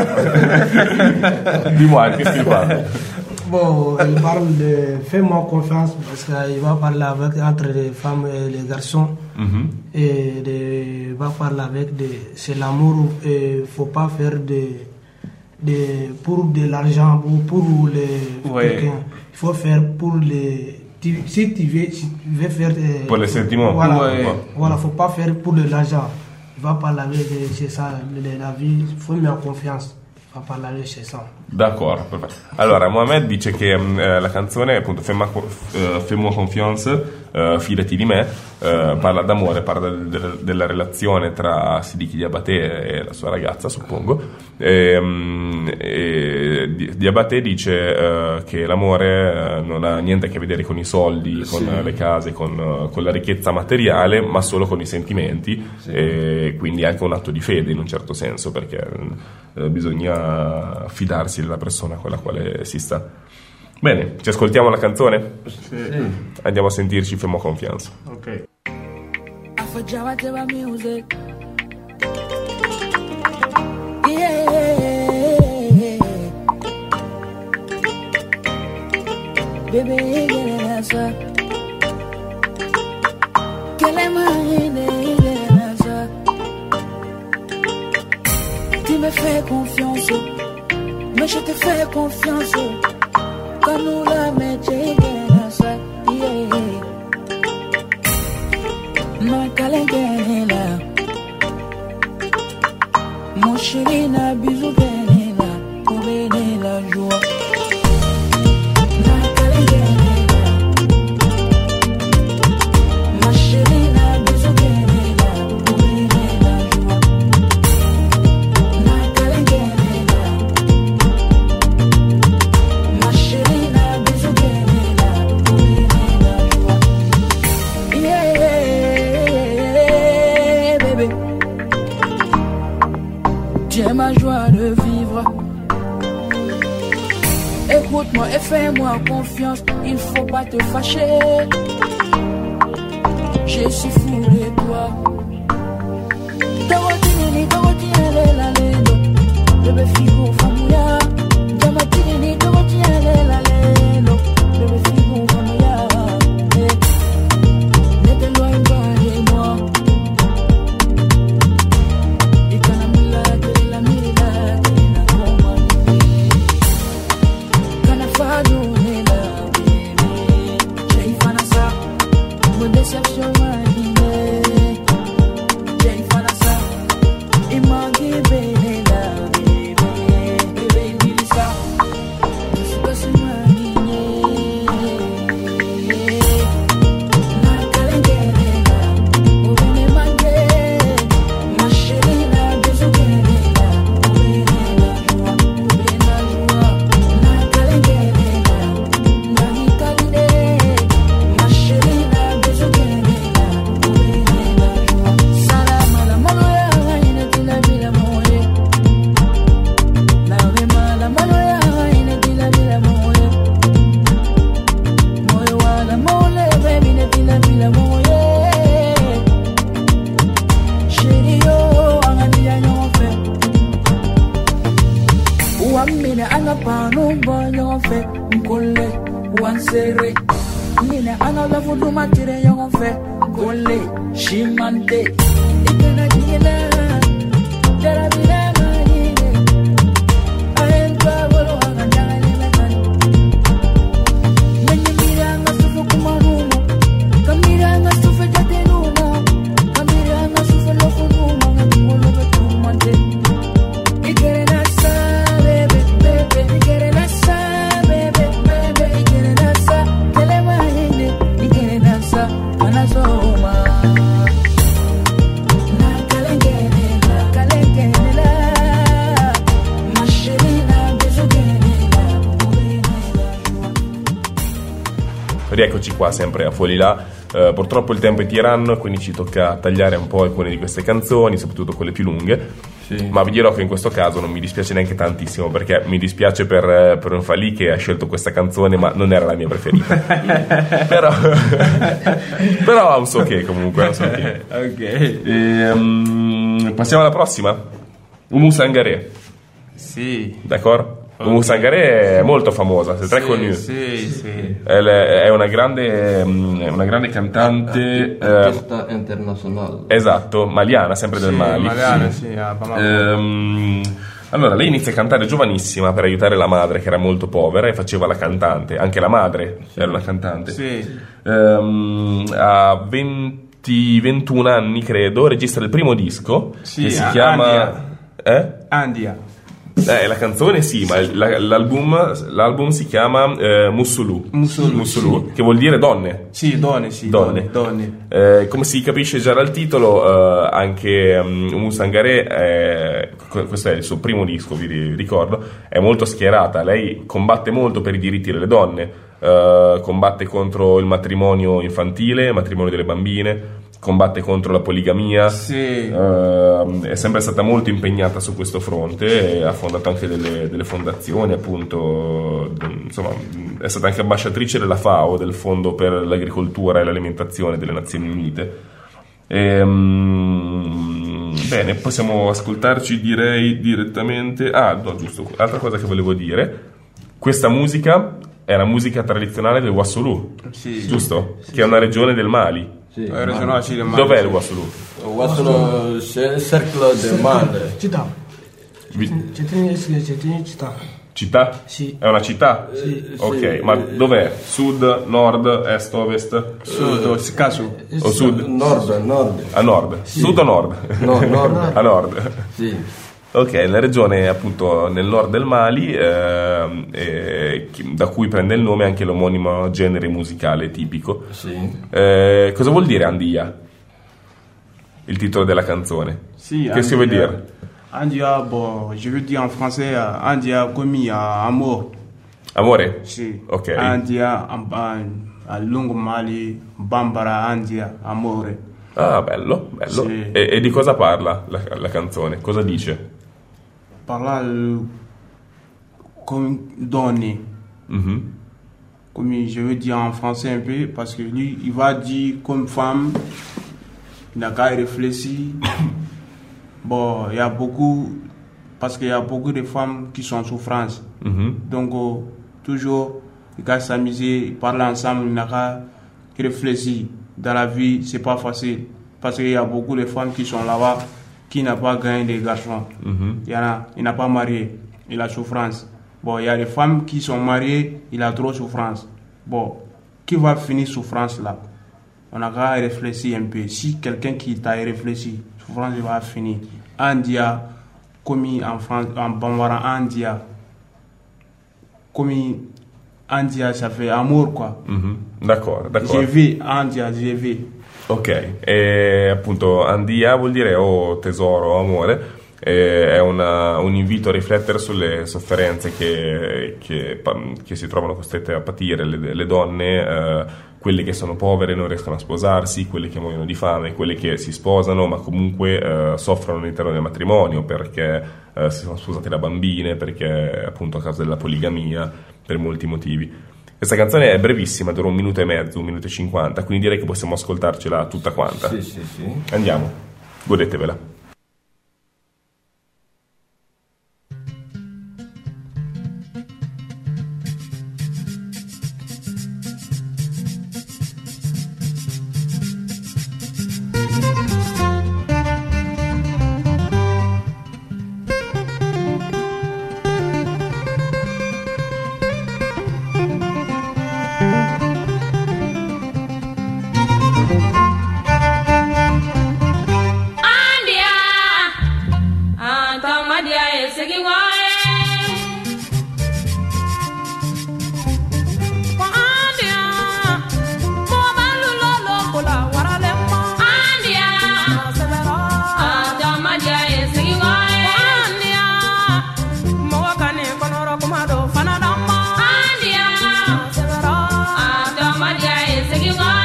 Ouais. Dis-moi, qu'est-ce qu'il parle? Bon, il parle de fais-moi confiance parce qu'il va parler avec entre les femmes et les garçons. Mm-hmm. Et de, il va parler avec des, c'est l'amour. Il faut pas faire des, des pour de l'argent ou pour les. Ouais. Il faut faire pour les. Tu, si tu veux, si tu veux faire. Des, pour les sentiments. Voilà. Ouais. Voilà, faut pas faire pour de l'argent. Il va parler avec des, c'est ça, de la vie. Il faut mettre confiance. A parlare c'è ça. D'accordo, perfetto. Allora, Mohamed dice che eh, la canzone, appunto, Fais-moi, uh, Fais-moi confiance, uh, Fidati di me, uh, parla d'amore, parla del, del, della relazione tra Siddiqui Diabaté e la sua ragazza, suppongo. E, um, e Diabaté dice uh, che l'amore uh, non ha niente a che vedere con i soldi, con sì. le case, con, uh, con la ricchezza materiale, ma solo con i sentimenti, sì. e quindi anche un atto di fede in un certo senso, perché uh, bisogna fidarsi della persona con la quale si sta. Bene, ci ascoltiamo la canzone? Sì. Andiamo a sentirci, Fais-moi confiance. Ok. Afajama teba music. Yeah. Baby, get it answer. Quelle est ma idée, get it answer. Tu me fais confiance, mais je te fais confiance. Quand nous la mettons, get it answer. Yeah. Ma calengela, mon chéri na bisou benela, pour bénir la joie. Ma calengela, ma chéri na bisou benela, pour bénir la joie. Ma calengela, ma chéri na bisou benela, pour bénir la joie. Yeah. Tu es ma joie de vivre. Écoute-moi et fais-moi confiance. Il faut pas te fâcher. Je suis fou de toi. Tawatinini, tawatinele la lelo. Bébé figo famouya. Jamatinini, tawatinele la lelo. Bébé figo famouya. Ne t'éloigne pas de moi. Rieccoci qua sempre a Fuori Là. Uh, purtroppo il tempo è tiranno, quindi ci tocca tagliare un po' alcune di queste canzoni, soprattutto quelle più lunghe. Sì. Ma vi dirò che in questo caso non mi dispiace neanche tantissimo, perché mi dispiace per, per un Falì che ha scelto questa canzone, ma non era la mia preferita. però, però ha un so che comunque. Un so che. Ok. E, um, passiamo alla prossima. Oumou Sangaré. Sì. D'accordo? Oumou Sangaré è molto famosa, c'est très sì, connue. Sì, sì. È una grande, è una grande cantante artista eh, internazionale. Esatto, maliana, sempre sì, del Mali. Maliana, sì, a Bamako. Ehm, allora, lei inizia a cantare giovanissima per aiutare la madre che era molto povera e faceva la cantante. Anche la madre sì. era una cantante. Sì. Ehm, a venti ventuno anni, credo, registra il primo disco sì, che si chiama Andia. Eh? Andia. Eh, la canzone sì, ma la- l'album, l'album si chiama eh, Musulu. Musulu, Musulu, che vuol dire donne. Sì, donne, sì, Donne. donne. donne. Eh, come si capisce già dal titolo, eh, anche um, Oumou Sangaré, è- que- questo è il suo primo disco, vi ri- ricordo, è molto schierata. Lei combatte molto per i diritti delle donne, eh, combatte contro il matrimonio infantile, il matrimonio delle bambine, combatte contro la poligamia. Sì. Eh, è sempre stata molto impegnata su questo fronte e ha fondato anche delle, delle fondazioni, appunto, d- insomma, è stata anche ambasciatrice della FAO, del Fondo per l'Agricoltura e l'Alimentazione delle Nazioni Unite. Ehm, bene, possiamo ascoltarci, direi, direttamente. Ah, no, giusto, altra cosa che volevo dire: questa musica è la musica tradizionale del Wassoulou, Sì. giusto? Che è una regione del Mali. Sì. È regionale, sì, del Mali. Dov'è il Wassoulou? Wassoulou, c'est un cercle de Mali. Città. Vi- C'è una città. Città? Sì. È una città? Sì. Ok, Sì. ma dov'è? Sud, nord, est, ovest? Sud, si caso. O sud? Nord, nord. A nord? Sud o nord? No, nord. A nord. Sì. Ok, la regione appunto nel nord del Mali, ehm, eh, chi- da cui prende il nome anche l'omonimo genere musicale tipico. Sì. Eh, cosa vuol dire Andia? Il titolo della canzone. Sì, Qu'est-ce que veut dire? Andia, bon, je veux dire en français, euh, Andia comme à amour. Amore? Sì. Ok. Andia, en- en- a lungo Mali, Bambara, Andia, amore. Ah, bello, bello. Sì. E, e di cosa parla la, la canzone? Cosa dice? Parla euh, comme donner. Mhm. Comme je veux dire en français un peu, parce que lui, il va dire comme femme, il n'a qu'à y réfléchir. Bon, il y a beaucoup, parce qu'il y a beaucoup de femmes qui sont en souffrance. Mhm. Donc, euh, toujours, il va s'amuser, ils parlent ensemble, il n'a qu'à réfléchir. Dans la vie, c'est pas facile, parce qu'il y a beaucoup de femmes qui sont là-bas, qui n'ont pas gagné des garçons. Mhm. Il y en a, il n'a pas marié, il a souffrance. Bon, il y a des femmes qui sont mariées, il a trop souffrance. Bon, qui va finir souffrance là? On a qu'à réfléchir un peu. Si quelqu'un qui t'a réfléchi, souffrance va finir. Andia, comme en France, en Bambara, Andia. Comme Andia, ça fait amour quoi. Mhm. D'accordo, d'accordo. Je vais, Andia, je vais. Ok, e appunto Andia vuol dire o tesoro o amore, e è una- un invito a riflettere sulle sofferenze che, che, pa- che si trovano costrette a patire le, le donne, eh, quelle che sono povere e non riescono a sposarsi, quelle che muoiono di fame, quelle che si sposano ma comunque eh, soffrono all'interno del matrimonio perché eh, si sono sposate da bambine, perché appunto a causa della poligamia, per molti motivi. Questa canzone è brevissima, dura un minuto e mezzo, un minuto e cinquanta, quindi direi che possiamo ascoltarcela tutta quanta. Sì, sì, sì. Andiamo, godetevela. Andia, Antamadia is singing why. Andia, Mama Lolo Kola Waralema. Andia, Antamadia is singing why. Andia, Mawakane Konoro Komado Fanadama. Andia, Antamadia is singing why.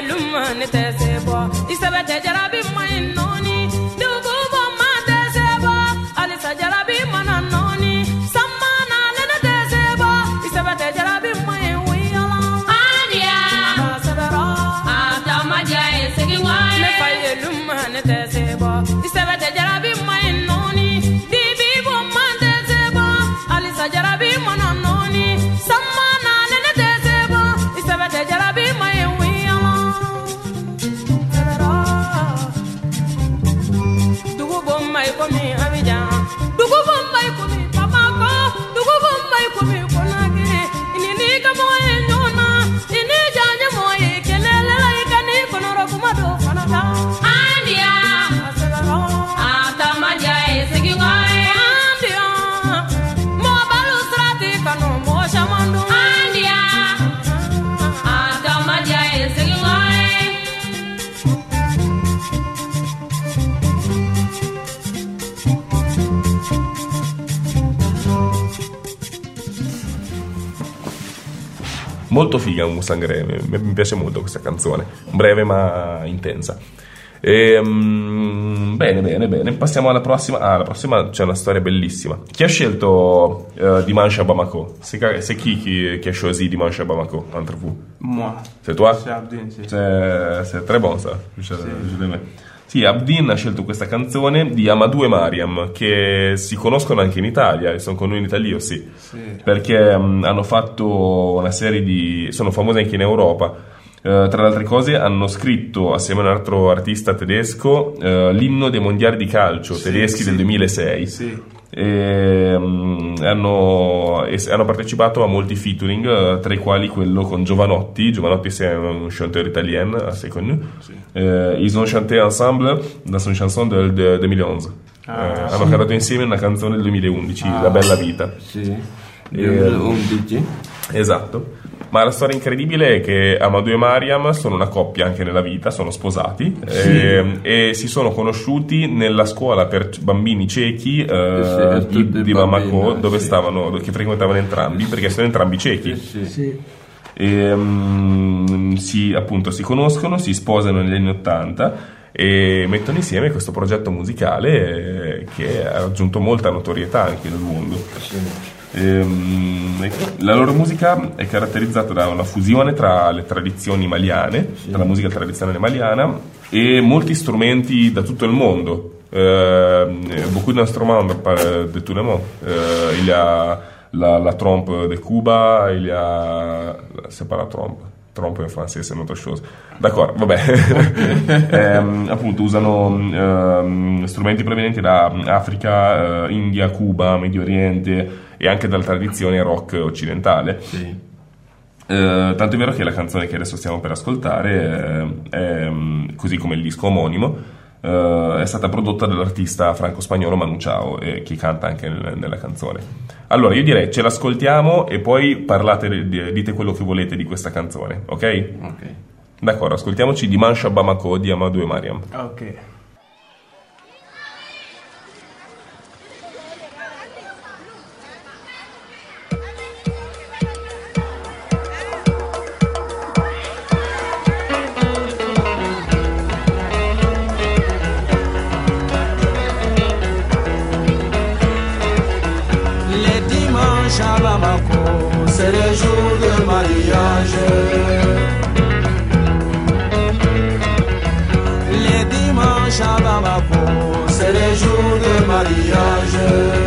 luma ne tɛ se bɔ i sɛbɛ tɛ jarabi ma ɲi nɔɔni dugu bɔ ma tɛ se bɔ halisa jarabi mana nɔɔni sama nale ne tɛ se bɔ i sɛbɛ tɛ jarabi ma ɲi wiyala aniya a sɛbɛrɔ a taama diya ye segin wa ye ne fa ye luma ne tɛ se bɔ i sɛbɛ tɛ jarabi ma ɲi nɔɔni dibi bɔ ma tɛ se bɔ halisa jarabi mana nɔɔni sama nale ne tɛ se bɔ i sɛbɛ tɛ jarabi ma ɲi wiyala sɛbɛrɔ dugu bɔ ma i komi Abidjan dugu bɔ ma i komi Bamako dugu bɔ ma i komi Konakry ini ni ka mɔgɔ ye ɲɔgɔn na ini diya n ye mɔgɔ ye kɛlɛla i ka ni kɔnɔrɔ kuma dɔ fana ta andiya a sɛbɛrɔ a taama diya ye segin kɔ ye andiya mɔgɔ balo sirati kanu mɔgɔ caman dun andiya a taama diya ye segin kɔ ye Molto figa Mustang Greve, mi piace molto questa canzone, breve ma intensa. E, um, bene, bene, bene. Passiamo alla prossima. Ah, la prossima c'è una storia bellissima. Chi ha scelto uh, Dimanche à Bamako? C'est, c'est qui, qui qui a choisi Dimanche à Bamako entre vous? Moi. C'est toi? C'est Abdin, sì. C'est, c'est très bon ça. Je, Sì. je l'aimais. Sì, Abdin ha scelto questa canzone di Amadou e Mariam, che si conoscono anche in Italia e sono con noi in Italia, sì. Sì. Perché um, hanno fatto una serie di... sono famosi anche in Europa. Uh, tra le altre cose hanno scritto assieme a un altro artista tedesco uh, l'inno dei mondiali di calcio Sì, tedeschi sì. del duemilasei. Sì. E, um, hanno, e hanno partecipato a molti featuring, uh, tra i quali quello con Giovanotti. Giovanotti c'est un chanteur italien assez connu. Sì. Uh, ils ont chanté ensemble dans une chanson del de, duemilaundici. Ah, Uh, hanno cantato insieme una canzone del duemilaundici, Ah, La bella vita. Sì. E- duemilaundici. Esatto. Ma la storia incredibile è che Amadou e Mariam sono una coppia anche nella vita, sono sposati e, e si sono conosciuti nella scuola per bambini ciechi eh, Sì, di, tutti di i Bamako, bambini, dove sì. stavano, che frequentavano entrambi, perché sono entrambi ciechi. Sì. Sì. E, mm, si, appunto, si conoscono, si sposano negli anni Ottanta e mettono insieme questo progetto musicale eh, che ha raggiunto molta notorietà anche nel mondo. Ehm, la loro musica è caratterizzata da una fusione tra le tradizioni maliane, tra la musica tradizionale maliana e molti strumenti da tutto il mondo. Euh, beaucoup d'instruments par- de tout le monde. Euh, il y a la, la trompe de Cuba, il y a... c'est pas la trompe. Trompe in francese è un'altra cosa. D'accordo, vabbè. ehm, appunto usano ehm, strumenti provenienti da Africa, eh, India, Cuba, Medio Oriente e anche dalla tradizione rock occidentale. Sì. Eh, tanto è vero che la canzone che adesso stiamo per ascoltare eh, è, così come il disco omonimo, eh, è stata prodotta dall'artista franco-spagnolo Manu Chao, eh, che canta anche nel- nella canzone. Allora io direi ce l'ascoltiamo e poi parlate, di- dite quello che volete di questa canzone, ok? Ok. D'accordo, ascoltiamoci Dimanche à Bamako di Amadou e Mariam. Ok. Les dimanches à Bamako, c'est les jours de mariage. Les dimanches à Bamako, c'est les jours de mariage.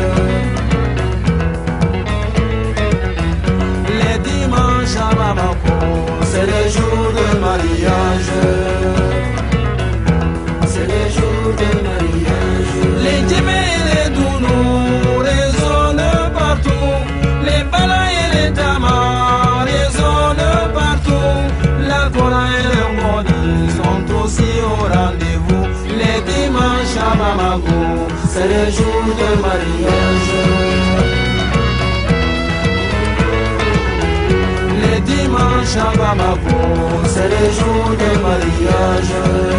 Les dimanches à Bamako, c'est les jours de mariage. C'est les jours de mariage. Les djemés et les dounous résonnent partout. Les balas et les tamas résonnent partout. La Kora et le Modi sont aussi au rendez-vous. Les dimanches à Bamako, c'est les jours de mariage. Les dimanches à Bamako, c'est les jours de mariage.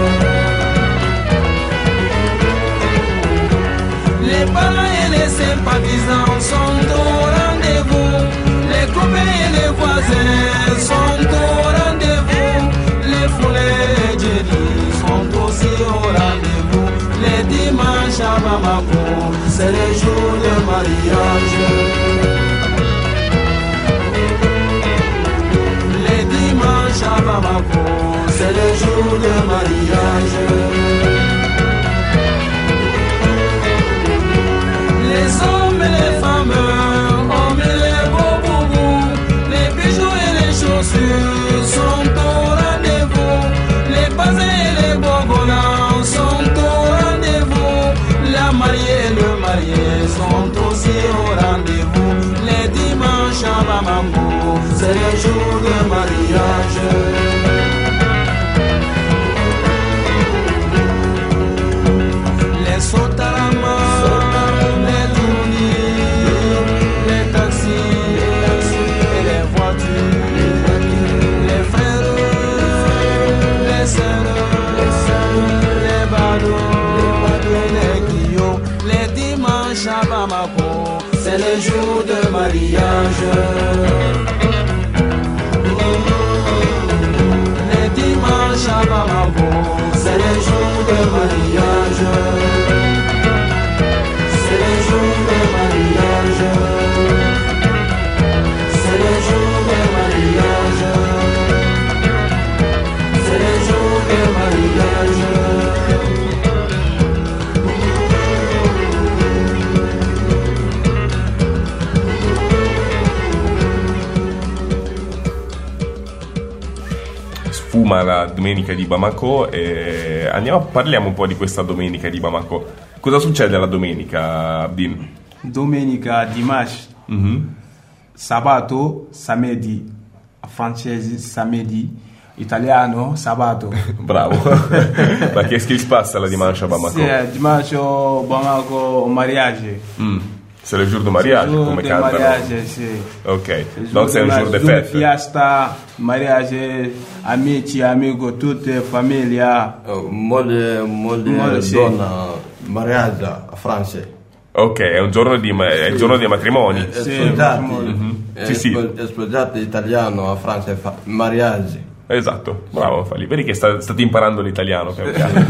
Les parents et les sympathisants sont au rendez-vous. Les copains et les voisins sont au rendez-vous. Les foulées à Bamako, c'est le jour de mariage. Les dimanches à Bamako, c'est le jour de mariage. Les hommes et les femmes ont mis les beaux boubous, les bijoux et les chaussures sont au rendez-vous. Les bazins et les bogolans sont au rendez-vous. La mariée et le marié sont aussi au rendez-vous. Les dimanches à Bamako, c'est le jour de mariage. Les sotarama, les tournis, les taxis et les voitures, les frères, les sœurs, les badauds, les guillots, les dimanches à Bamako, c'est le jour de mariage. Les dimanches à Bamako, c'est le jour de mariage. C'est le jour de mariage. C'est le jour de mariage. C'est le jour de mariage. Sfuma la domenica di Bamako e andiamo, parliamo un po' di questa domenica di Bamako. Cosa succede la domenica, Abdin? Domenica, dimanche, Mm-hmm. sabato, samedi, francese, samedi, italiano, sabato. Bravo. Ma qu'est-ce qui se passe la dimanche à Bamako? C'est dimanche au Bamako, au mariage. Mm. C'est le jour de mariage, C'est le jour come de cantano. mariage, c'est. Ok, donc c'est un jour de jour fête. Fiesta, mariage, amici, amigo, toute famiglia. Mode, mode, Mode, sì. donna, mariage a Francia. Ok, è un giorno di, ma- è il giorno dei matrimoni. Sposati, Mhm. eh, Sì, sì. spo- sposati italiano a Francia, fa- mariage. Esatto, bravo Fali. Vedi che sta- state imparando l'italiano piano piano.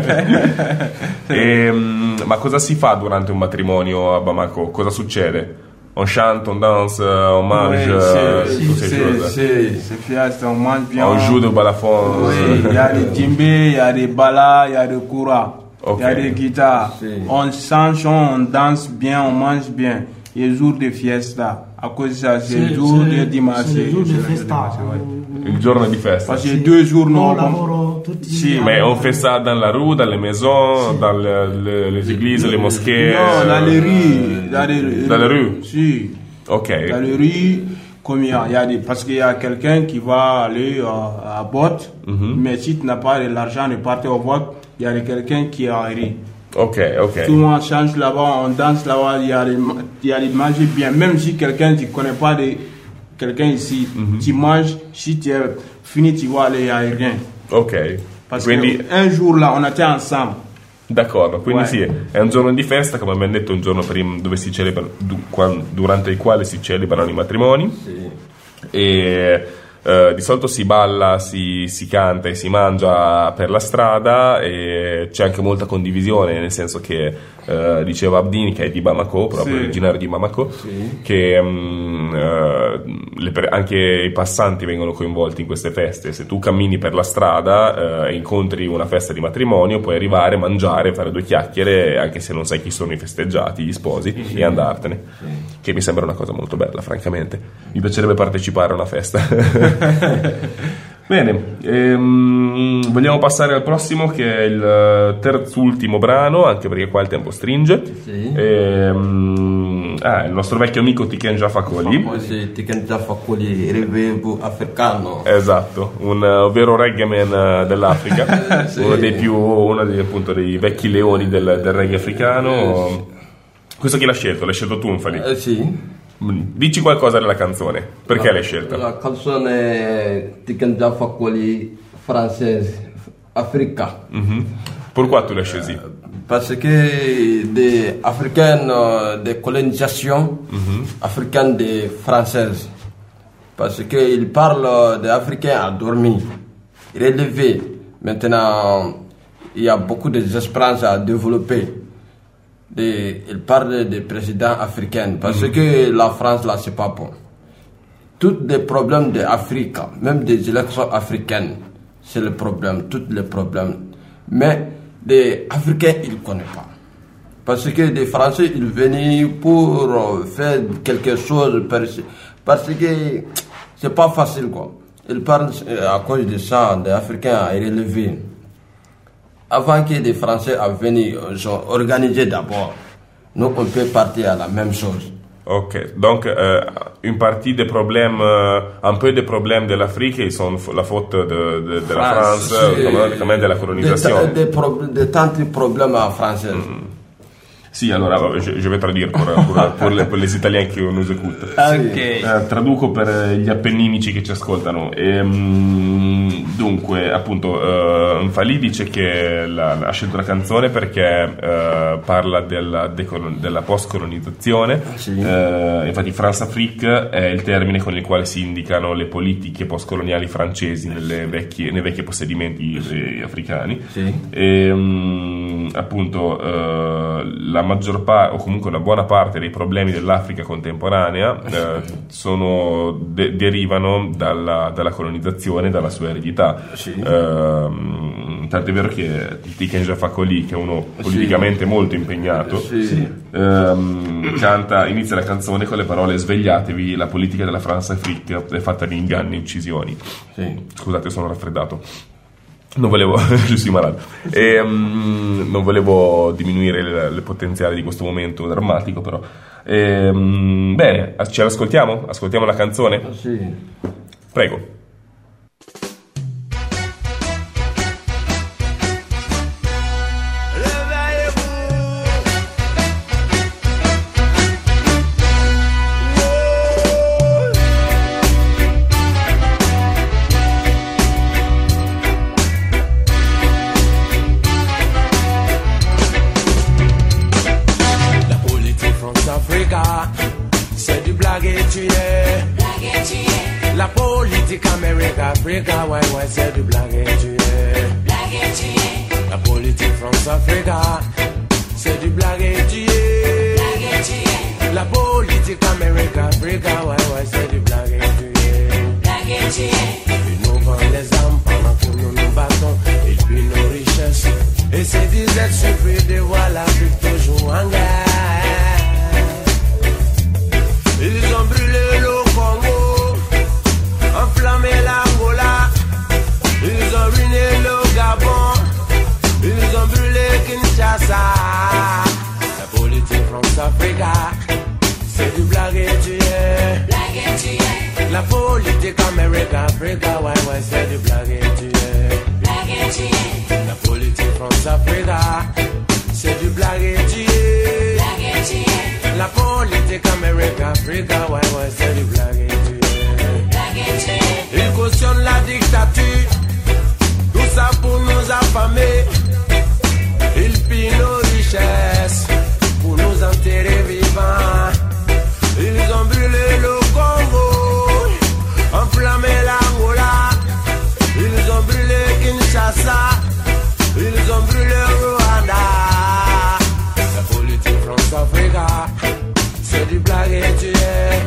Ehm, ma cosa si fa durante un matrimonio a Bamako? Cosa succede? On chante, on danse, on mange, Oui, euh, c'est- toutes ces c'est- choses. c'est c'est fiesta, on mange bien. On joue de balafon. Oui, il y a des djembés, il y a des balas, il y a des kouras, il Ok. y a des guitares. On chante, on danse bien, on mange bien. Et le jour de fiesta, à cause de ça, c'est le C'est- jour c'est- de dimanche. c'est le jour de C'est le festa. dimanche, ouais. Il giorno di festa. Parce que deux jours, non. Non lavoro tutti Sì, Mais on fait ça dans la rue, dans les maisons, dans le- le- les églises, les mosquées. Non, dans les euh, rues. Dans les, Dans les rues? Si. Ok. Dans les rues, comme il y a, il y a des, parce qu'il y a quelqu'un qui va aller euh, à vote, Mhm. mais si tu n'as pas de l'argent de partir au vote, il y a quelqu'un qui est en rue. Ok, ok. Tout le monde change là-bas, on danse là-bas, il y a des, il y a des manger bien. Même si quelqu'un, tu ne connais pas de quelqu'un ici, tu manges, si tu es fini, tu vas aller à rien. Ok. Parce Quindi, qu'un jour là, on était ensemble. d'accordo, quindi Ouais. sì, è un giorno di festa, come abbiamo detto, un giorno prima dove si celebra, du- quan- durante il quale si celebrano i matrimoni. E eh, di solito si balla, si, si canta e si mangia per la strada e c'è anche molta condivisione, nel senso che eh, diceva Abdini, che è di Bamako, proprio Sì. originario di Bamako, che mm, eh, le per- anche i passanti vengono coinvolti in queste feste. Se tu cammini per la strada eh, e incontri una festa di matrimonio, puoi arrivare, mangiare, fare due chiacchiere, anche se non sai chi sono i festeggiati, gli sposi, Sì. e andartene, che mi sembra una cosa molto bella, francamente. Mi piacerebbe partecipare a una festa. Bene, ehm, vogliamo passare al prossimo, che è il terzultimo brano, anche perché qua il tempo stringe. Sì. Ehm, ah, il nostro vecchio amico Tiken Jah Fakoly. Sì, Tiken Jah Fakoly, revebu africano. Esatto, un uh, vero reggae man uh, dell'Africa, Sì. uno dei più, uno dei, appunto, dei vecchi leoni del, del reggae africano. Questo chi l'ha scelto? L'hai scelto tu, Nfali? Eh, sì. Dici qualcosa della canzone, perché La- l'hai scelta? La canzone Tiken Jah Fakoly française, Africa. Mhm. Pourquoi tu l'as choisi? Parce que des africaines de colonisation, africaines de françaises. Parce qu'ils parlent des Africains endormis, relevés. Maintenant, il y a beaucoup d'espérances à développer. de, il parle des présidents africains, parce mm-hmm. que la France, là, c'est pas bon. Tous les problèmes d'Afrique, même des élections africaines, c'est le problème, tous les problèmes. Mais les Africains, ils ne connaissent pas. Parce que les Français, ils venaient pour faire quelque chose, parce que c'est pas facile, quoi. Ils parlent à cause de ça, des Africains à relever. Avant que les Français viennent organiser d'abord, nous, on peut partir à la même chose. Ok, donc euh, une partie des problèmes, euh, un peu des problèmes de l'Afrique, ils sont la faute de, de, de la France, France quand même de la colonisation. Des, des, pro, des tant de problèmes en français. Mm. Sì, allora je, je vais traduire pour, pour, pour, les, pour les Italiens qui nous écoutent. Ok. Eh, traduco per gli appenninici che ci ascoltano. E, mh, dunque, appunto, uh, Fali dice che la, ha scelto la canzone perché uh, parla della, decolon- della post-colonizzazione. Sì. Uh, infatti, France-Afrique è il termine con il quale si indicano le politiche post-coloniali francesi nelle vecchie, nei vecchi possedimenti eh, africani. Sì. E, mh, appunto, uh, la la maggior parte, o comunque una buona parte dei problemi dell'Africa contemporanea eh, sono, de- derivano dalla, dalla colonizzazione, dalla sua eredità. Sì. Eh, tanto è vero che Tiken Fakoli, che è uno politicamente sì. molto impegnato, sì. ehm, canta, inizia la canzone con le parole: svegliatevi, la politica della France-Afrique è fatta di inganni e uccisioni. Sì. Scusate, sono raffreddato. Non volevo, je suis malade. E, um, non volevo diminuire il, il potenziale di questo momento drammatico, però. E, um, bene, ce l'ascoltiamo? Ascoltiamo la canzone? Sì. Prego. Africa, why, why, c'est du blague et tu es. La politique France-Africa, c'est du blague et tu es. La politique Amérique-Africa, why, why, c'est du blague et tu es. Ils nous vendent les armes pendant que nous nous battons, et puis nos richesses. Et ces disettes suffit de voir l'Afrique toujours en guerre. Ils ont brûlé le Congo, enflammé l'Angola, ils ont ruiné le Gabon, ils ont brûlé Kinshasa. La politique France-Africa, c'est du blague et tu es. La politique Amérique-Africa, ouais, ouais, c'est du blague et tu es. La politique France-Africa, c'est du blague et tu es. La politique Amérique-Africa, ouais, ouais, c'est du blague et tu es. Ils cautionnent la dictature, tout ça pour nous affamer. Ils pillent nos richesses pour nous enterrer vivants. Ils ont brûlé le Congo, enflammé l'Angola. Ils ont brûlé Kinshasa, ils ont brûlé Rwanda. La politique France-Africa, c'est du blague et tu es.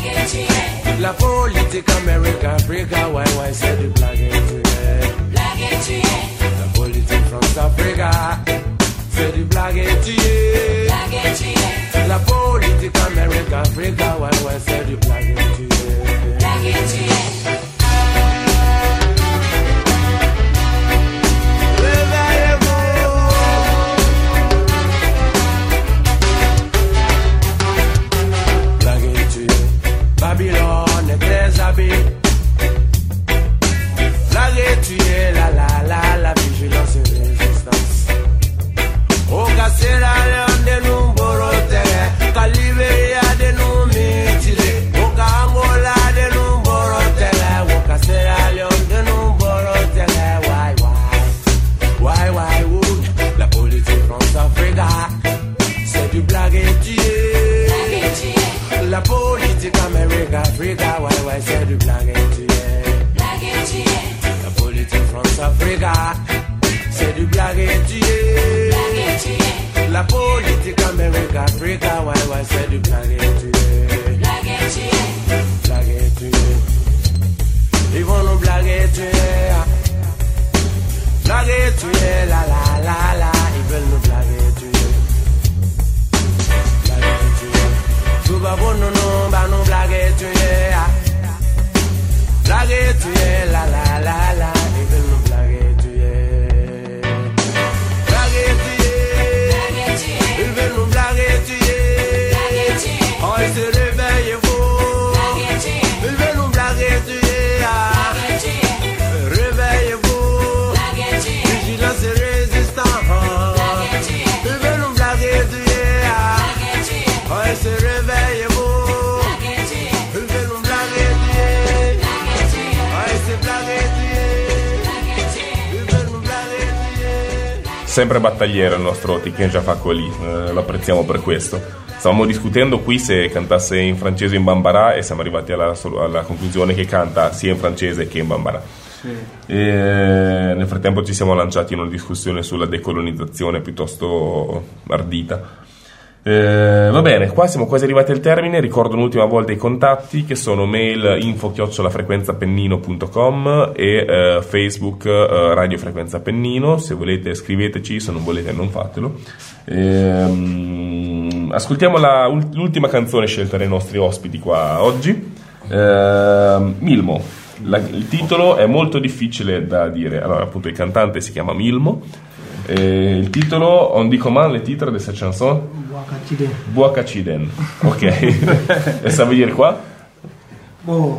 La politique Amérique-Africa, ouais, ouais, c'est du blague et tu es. La politique France-Africa, c'est du blague et tu es. La politique Amérique-Africa, ouais, ouais, c'est du blague et tu es. Babylone est très habile. Blague tu es la la la la vigilance et résistance. Au Cassera Léon de nous borotere, Caliberia de nous mitile, au Angola de nous borotere, au Cassera Léon de nous borotere. Why why why why would la politique France-Africa, c'est du blague et tu es. La politique Amérique-Africa, ouais, ouais, c'est du blague et tu es. La politique France-Africa, c'est du blague et tu es. La politique Amérique, Africa, ouais, ouais, c'est du blague tuer. Blague tuer. Blague tuer. Ils vont nous blaguer tuer. Blaguer tuer, la la la la. Ils veulent nous blaguer tuer. Blaguer tuer. Tout va bon, non, non, bah nous blaguer tuer. Blaguer tuer, la la la la. Ils veulent nous blaguer tuer. Blaguer tuer. Ils veulent nous blaguer tuer. Oh, ils se réveillent, vous. Ils veulent nous blaguer tuer. Réveillez-vous. Vigilance et résistance. Ils veulent nous blaguer tuer. Oh, ils se réveillent, vous. Ils veulent nous blaguer tuer. Oh, ils se blaguer tuer. Ils veulent nous blaguer tuer. Sempre battagliero il nostro Tiken Jafakoli, eh, lo apprezziamo per questo. Stavamo discutendo qui se cantasse in francese o in bambara e siamo arrivati alla, alla conclusione che canta sia in francese che in bambara. Sì. E nel frattempo ci siamo lanciati in una discussione sulla decolonizzazione piuttosto ardita. Eh, va bene, qua siamo quasi arrivati al termine. Ricordo un'ultima volta i contatti, che sono mail info chiocciola frequenza pennino punto com e eh, Facebook eh, Radio Frequenza Pennino. Se volete scriveteci, se non volete non fatelo. Eh, ascoltiamo la, l'ultima canzone scelta dai nostri ospiti qua oggi. eh, Milmo. La, il titolo è molto difficile da dire. Allora, appunto, il cantante si chiama Milmo. Et il titolo, on dit comment le titre de cette chanson? Boakachiden. Boakachiden. Ok. Et ça veut dire quoi? Bon,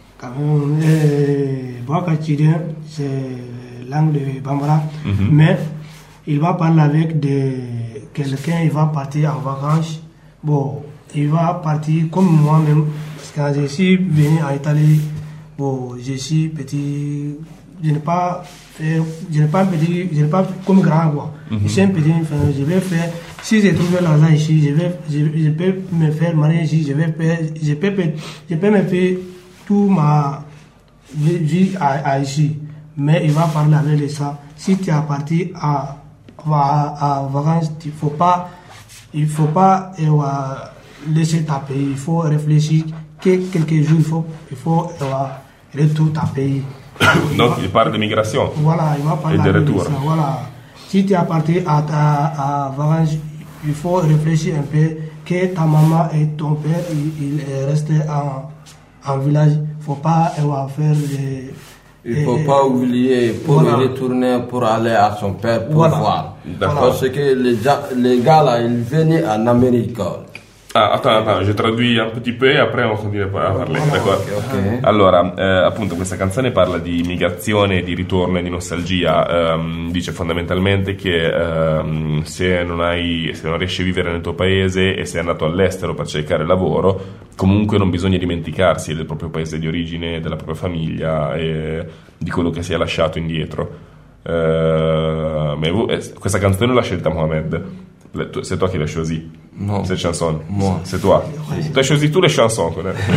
euh, Boakachiden, c'est langue de Bambara, mm-hmm. mais il va parler avec de quelqu'un, il va partir en vacances. Bon, il va partir comme moi-même, parce que quand je suis venu en Italie, bon, je suis petit, je n'ai pas fait, je n'ai pas petit, je n'ai pas comme grand quoi. Mm-hmm. Je suis un petit, je vais faire, si j'ai trouvé l'argent ici, je vais, je, je peux me faire marier ici, je vais faire, je peux, je peux me faire tout ma vie à, à ici. Mais il va parler avec les ça. Si tu es parti à, à, à vacances, il faut pas, il faut pas euh, laisser ta pays. Il faut réfléchir que quelques jours, il faut, il faut euh, retourner ta pays. Donc il parle de migration. Voilà, il va parler de retour. Ça, voilà. Si tu es parti à, à, à vacances, il faut réfléchir un peu que ta maman et ton père, il, il est resté en, en village. Il faut pas euh, faire des... Il ne faut pas oublier pour voilà. retourner pour aller à son père pour voilà. voir. Parce que les, les gars là, ils venaient en Amérique. Ah, attends, attends, je traduis un petit peu e après on continua a parlare. Okay, okay. Allora, eh, appunto questa canzone parla di migrazione, di ritorno e di nostalgia. Um, dice fondamentalmente che um, se non hai, se non riesci a vivere nel tuo paese e sei andato all'estero per cercare lavoro, comunque non bisogna dimenticarsi del proprio paese di origine, della propria famiglia e di quello che si è lasciato indietro. Uh, mais vous, questa canzone l'ha scelta Mohamed. C'est toi qui l'as choisi. Non. Cette chanson. Moi. C'est toi. Tu as choisi toutes les chansons.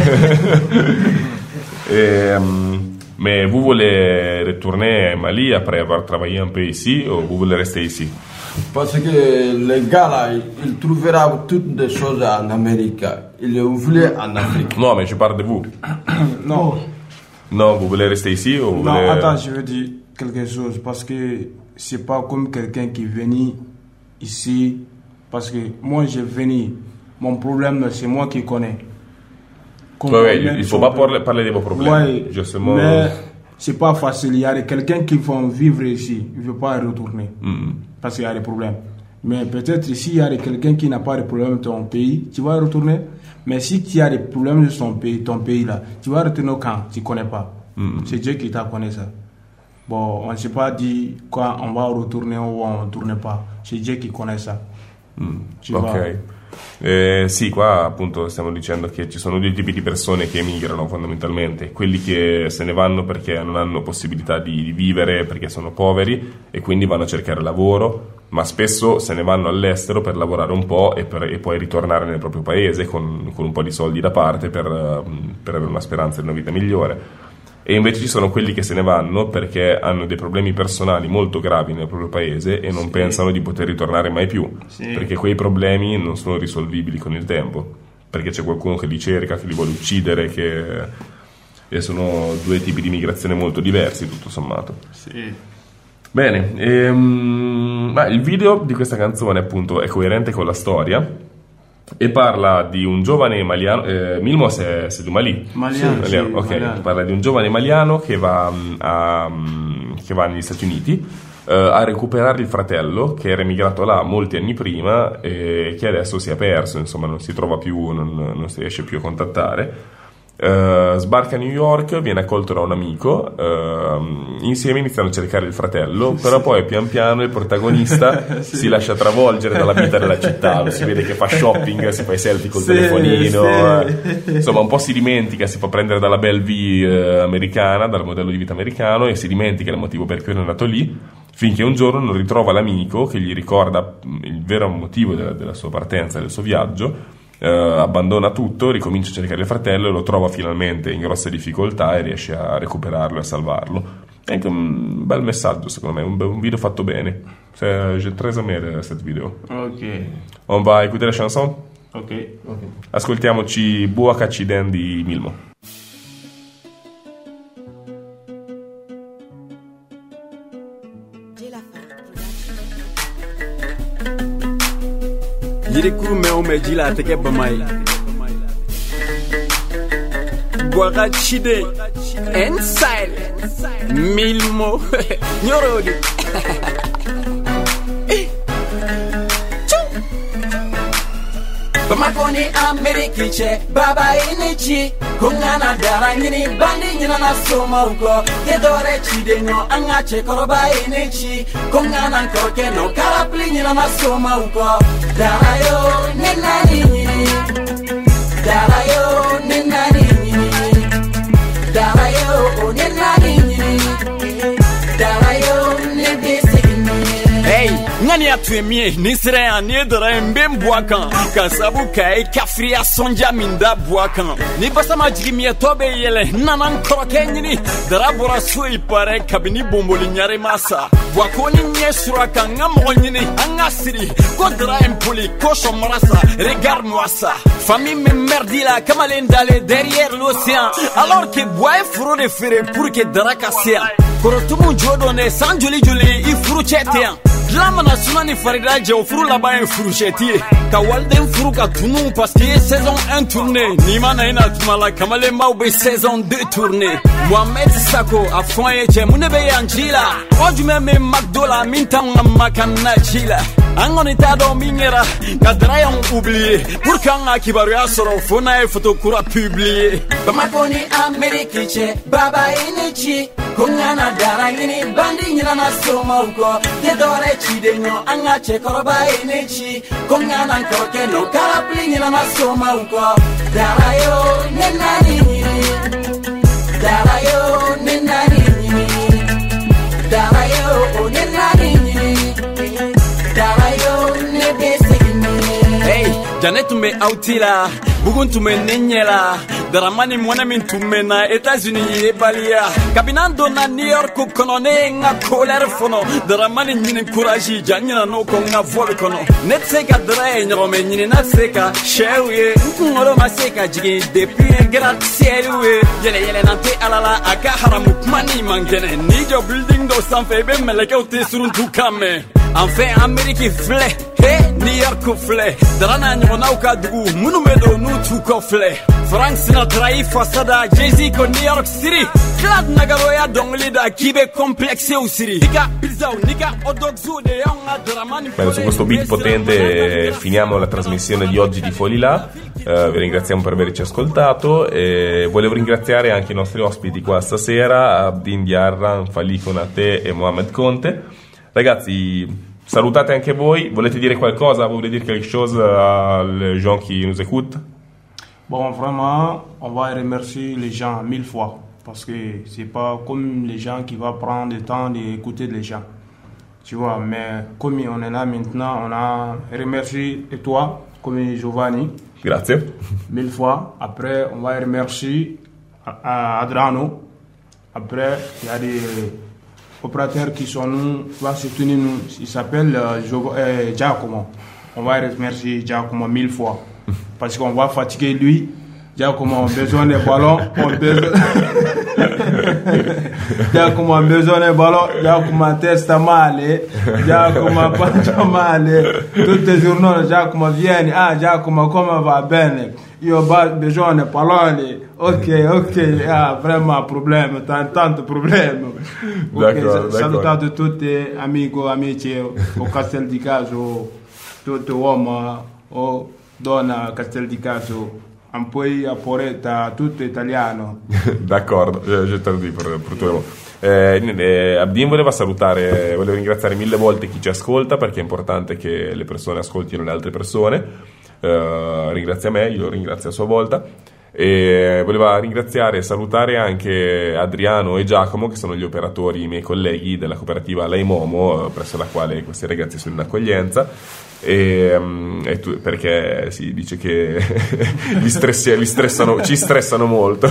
Et, um, mais vous voulez retourner à Mali après avoir travaillé un peu ici ou vous voulez rester ici? Parce que les gars là, ils trouveront toutes des choses en Amérique. Ils le voulaient en Afrique. Non, mais je parle de vous. Non. Non, vous voulez rester ici ou vous Non, voulez... attends, je veux dire quelque chose. Parce que c'est pas comme quelqu'un qui est venu ici, parce que moi je venu, mon problème c'est moi qui connais. Ouais, ouais, il ne faut pas parler, parler de vos problèmes. Ouais, justement. Mais c'est pas facile. Il y a quelqu'un qui va vivre ici, il ne veut pas retourner mm-hmm. parce qu'il y a des problèmes. Mais peut-être ici il y a quelqu'un qui n'a pas de problème dans ton pays, tu vas retourner. Mais si tu as des problèmes de ton pays, ton pays là, tu vas retourner au camp, tu ne connais pas. Mm-hmm. C'est Dieu qui t'a connu ça. Bon, on ne s'est pas dit quand on va retourner ou on ne retourne pas. C'est Dieu qui connaît ça. Mm, ok. Eh, sì, qua appunto stiamo dicendo che ci sono due tipi di persone che emigrano fondamentalmente. Quelli che se ne vanno perché non hanno possibilità di, di vivere, perché sono poveri e quindi vanno a cercare lavoro, ma spesso se ne vanno all'estero per lavorare un po' e, per, e poi ritornare nel proprio paese con, con un po' di soldi da parte per, per avere una speranza di una vita migliore. E invece ci sono quelli che se ne vanno perché hanno dei problemi personali molto gravi nel proprio paese e non sì. pensano di poter ritornare mai più, sì. perché quei problemi non sono risolvibili con il tempo, perché c'è qualcuno che li cerca, che li vuole uccidere, che e sono due tipi di migrazione molto diversi, tutto sommato. Sì. Bene, ehm, ma il video di questa canzone appunto è coerente con la storia e parla di un giovane maliano, eh, Milmo se, se tu Mali? Maliano, sì, Maliano, ok, Maliano. Parla di un giovane maliano che va, a, che va negli Stati Uniti eh, a recuperare il fratello che era emigrato là molti anni prima e che adesso si è perso, insomma non si trova più, non, non si riesce più a contattare. Uh, sbarca a New York, viene accolto da un amico, uh, insieme iniziano a cercare il fratello, però sì. poi pian piano il protagonista sì. si lascia travolgere dalla vita della città, si vede che fa shopping, si fa i selfie col sì, telefonino, sì. insomma un po' si dimentica, si fa prendere dalla Belle Vie uh, americana, dal modello di vita americano e si dimentica il motivo per cui è andato lì, finché un giorno non ritrova l'amico che gli ricorda il vero motivo della, della sua partenza, del suo viaggio. Uh, abbandona tutto, ricomincia a cercare il fratello e lo trova finalmente in grosse difficoltà e riesce a recuperarlo e a salvarlo. È anche un bel messaggio secondo me, un, be- un video fatto bene. C'est, j'ai très aimé cette vidéo. Ok. On va écouter la chanson? Ok. okay. Ascoltiamoci Buakachiden di Milmo. yiri kuru mɛ o mɛ ji la a tɛ kɛ bama ye Bwaga Chide Inside Milmo Nyorodi Bamako ni Ameriki che baba inichi kungana dara nyini bandi nyina na soma uko gedore chide no anga che koroba inichi kungana nkoke no karapli nyina na soma uko dara yo ninani nyini dara yo ninani nyini dara yo ninani nyini dara yo nibisi Hey, ngani atwemie nisre ani dara mbem boakan kasabu kai kafria sonja minda boakan ni basama jigimie tobe yele nanan kroke nyini dara bora sui pare kabini bomboli nyare masa boakoni nye suraka ngamo nyini angasiri ko dara impoli ko marasa regarde-moi ça famille me merdila kamalen d'aller derrière l'océan alors que boy furo de fere pour que dara kasia korotumu jodone sanjuli juli ifuru chetean Lamana sunani farida jaw furu laban furu chetie ka walden furu ka tunu parce que saison un tournée ni mana ina tumala kamale maube saison deux tournée Mohamed Sako a foye je munebe yanjila ojume me magdola mintanga makana chila angoni tado mingera ka drayon oublier pour kanga kibaru asoro fona e photo kura publier Bamakoni Ameriki che baba inichi kungana dara ngini bandi nyina na soma uko gedore chide no anga che koroba inichi kungana nkoke no karapli nyina na soma uko dara yo nenani nyini dara yo nenani nyini dara yo nenani nyini dara yo nebese nyini Hey, Janet me outila bugun tume nenyela daramani mwana min tume na États-Unis e balia kabinando na New York kono ne nga colère fono daramani nyine courage janyina no ko nga vol kono netseka dray nyome nyine na seka shewe ngoro maseka jigi depuis grazie we yele yele nante alala aka haramu mani mangene ni jo building do sanfe be meleke uti surun tukame enfin Amerique flé Hey, New York flé Darana nyona uka dugu Munu medo nutu ko flé Frank Sinatra i fasada Jay-Z ko New York City Clad nagaro ya dongli da kibe complexe usiri Nika pizzao, nika odogzu de yonga dramani Bene, su questo beat potente finiamo la trasmissione di oggi di Folilà. Uh, vi ringraziamo per averci ascoltato e volevo ringraziare anche i nostri ospiti qua stasera, Abdin Diarra, Fali Konate e Mohamed Conte. Ragazzi, salutate anche voi, volete dire qualcosa, volete dire quelque chose aux gens qui nous écoutent? Bon, vraiment, on va remercier les gens mille fois parce que c'est pas comme les gens qui vont prendre le temps d'écouter les gens. Tu vois, mais comme on est là maintenant, on a remercié et toi, comme Giovanni. Grazie. Mille fois. Après, on va remercier Adrano Après, il y a des opérateurs qui sont nous, qui vont soutenir nous. Il s'appelle euh, Jo- euh, Giacomo. On va remercier Giacomo mille fois. Parce qu'on va fatiguer lui. Giacomo a besoin des ballons. On a besoin... Giacomo a besoin des ballons. Giacomo a testa male. Giacomo a pancia male. Tutti i giorni Giacomo viene. Ah, Giacomo come va bene? Io ho bisogno di palloni. Ok, ok, ah, vraiment problème, tant, tanto problème. D'accordo, Ok, salutate tutti amici, amici o Castel di Caso, tutto uomo o donna Castel di Caso. Un po' a Poretta, tutto italiano. D'accordo, eh, je te lo dico per, per tutto. Eh, eh, Abdin voleva salutare, voleva ringraziare mille volte chi ci ascolta, perché è importante che le persone ascoltino le altre persone. Eh, ringrazia me, io ringrazio a sua volta. E voleva ringraziare e salutare anche Adriano e Giacomo, che sono gli operatori, i miei colleghi della cooperativa Laimomo, presso la quale questi ragazzi sono in accoglienza. E, um, e tu, perché si dice che li, stressi, li stressano, ci stressano molto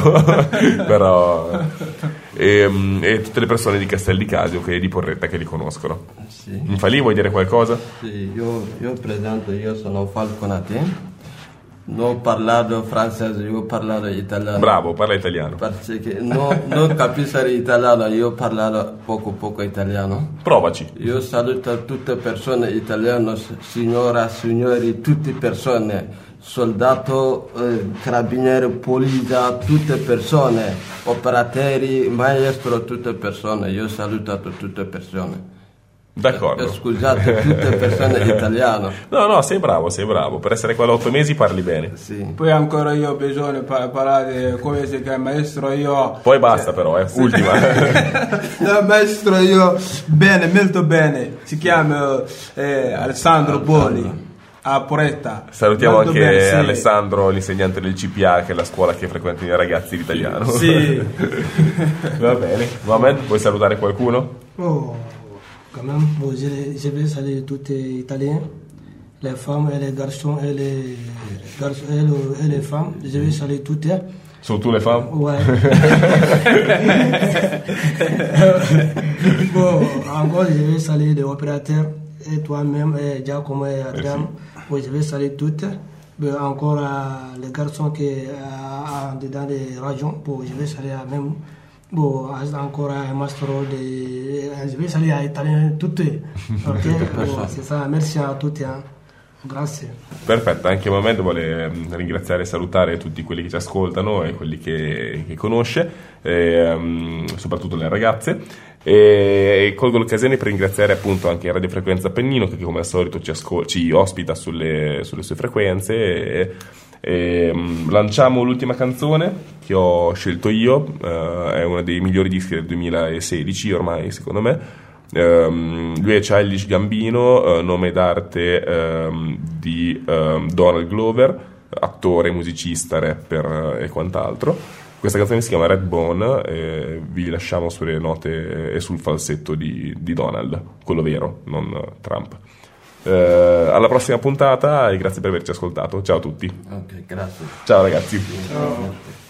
però e, um, e tutte le persone di Castel di Casio e di Porretta che li conoscono. Sì. Infali, vuoi dire qualcosa? Sì, io, io presento, io sono Falconate. Non ho parlato francese, io ho parlato italiano. Bravo, parla italiano. Perché no, non capisco l'italiano, io ho parlato poco poco italiano. Provaci. Io saluto tutte le persone italiane, signora, signori, tutte persone, soldato, eh, carabinieri, polizia, tutte persone, operatori, maestro, tutte persone. Io ho salutato tutte le persone. D'accordo. Scusate, tutte persone italiane. No, no, sei bravo, sei bravo. Per essere qua da otto mesi parli bene. Sì. Poi ancora io ho bisogno di parlare come si chiama maestro io. Poi basta però, eh. Sì. Ultima. No, maestro io bene, molto bene. Si chiama eh, Alessandro Boli. A Poretta. Salutiamo molto anche bene, sì. Alessandro, l'insegnante del C P A, che è la scuola che frequentano i ragazzi di italiano. Sì. Va bene. Mohamed, vuoi salutare qualcuno? Oh, quand même, bon, je, je vais saluer tous les Italiens, les femmes et les garçons et les, garçons et, le, et les femmes. Je vais saluer toutes. Surtout les femmes? Ouais. Bon, encore, je vais saluer les opérateurs et toi-même, et Giacomo et Adrian. Bon, je vais saluer toutes. Bon, encore euh, les garçons qui sont dans les régions. Bon, je vais saluer même. Bon, encore un mastro de... Je vais saluer à Italien tutti. Ok, bon, c'est ça. Merci a tutti. Eh. Grazie. Perfetto, anche Mohamed vuole ringraziare e salutare tutti quelli che ci ascoltano e quelli che, che conosce, e, um, soprattutto le ragazze. E, e colgo l'occasione per ringraziare appunto anche Radio Frequenza Appennino, che come al solito ci, ascol- ci ospita sulle, sulle sue frequenze. E, e, um, lanciamo l'ultima canzone che ho scelto io, uh, è uno dei migliori dischi del duemilasedici ormai, secondo me. Um, lui è Childish Gambino, uh, nome d'arte um, di um, Donald Glover, attore, musicista, rapper uh, e quant'altro. Questa canzone si chiama Redbone e vi lasciamo sulle note e sul falsetto di, di Donald, quello vero, non uh, Trump. Uh, alla prossima puntata e grazie per averci ascoltato. Ciao a tutti. Ok, grazie. Ciao ragazzi. Ciao.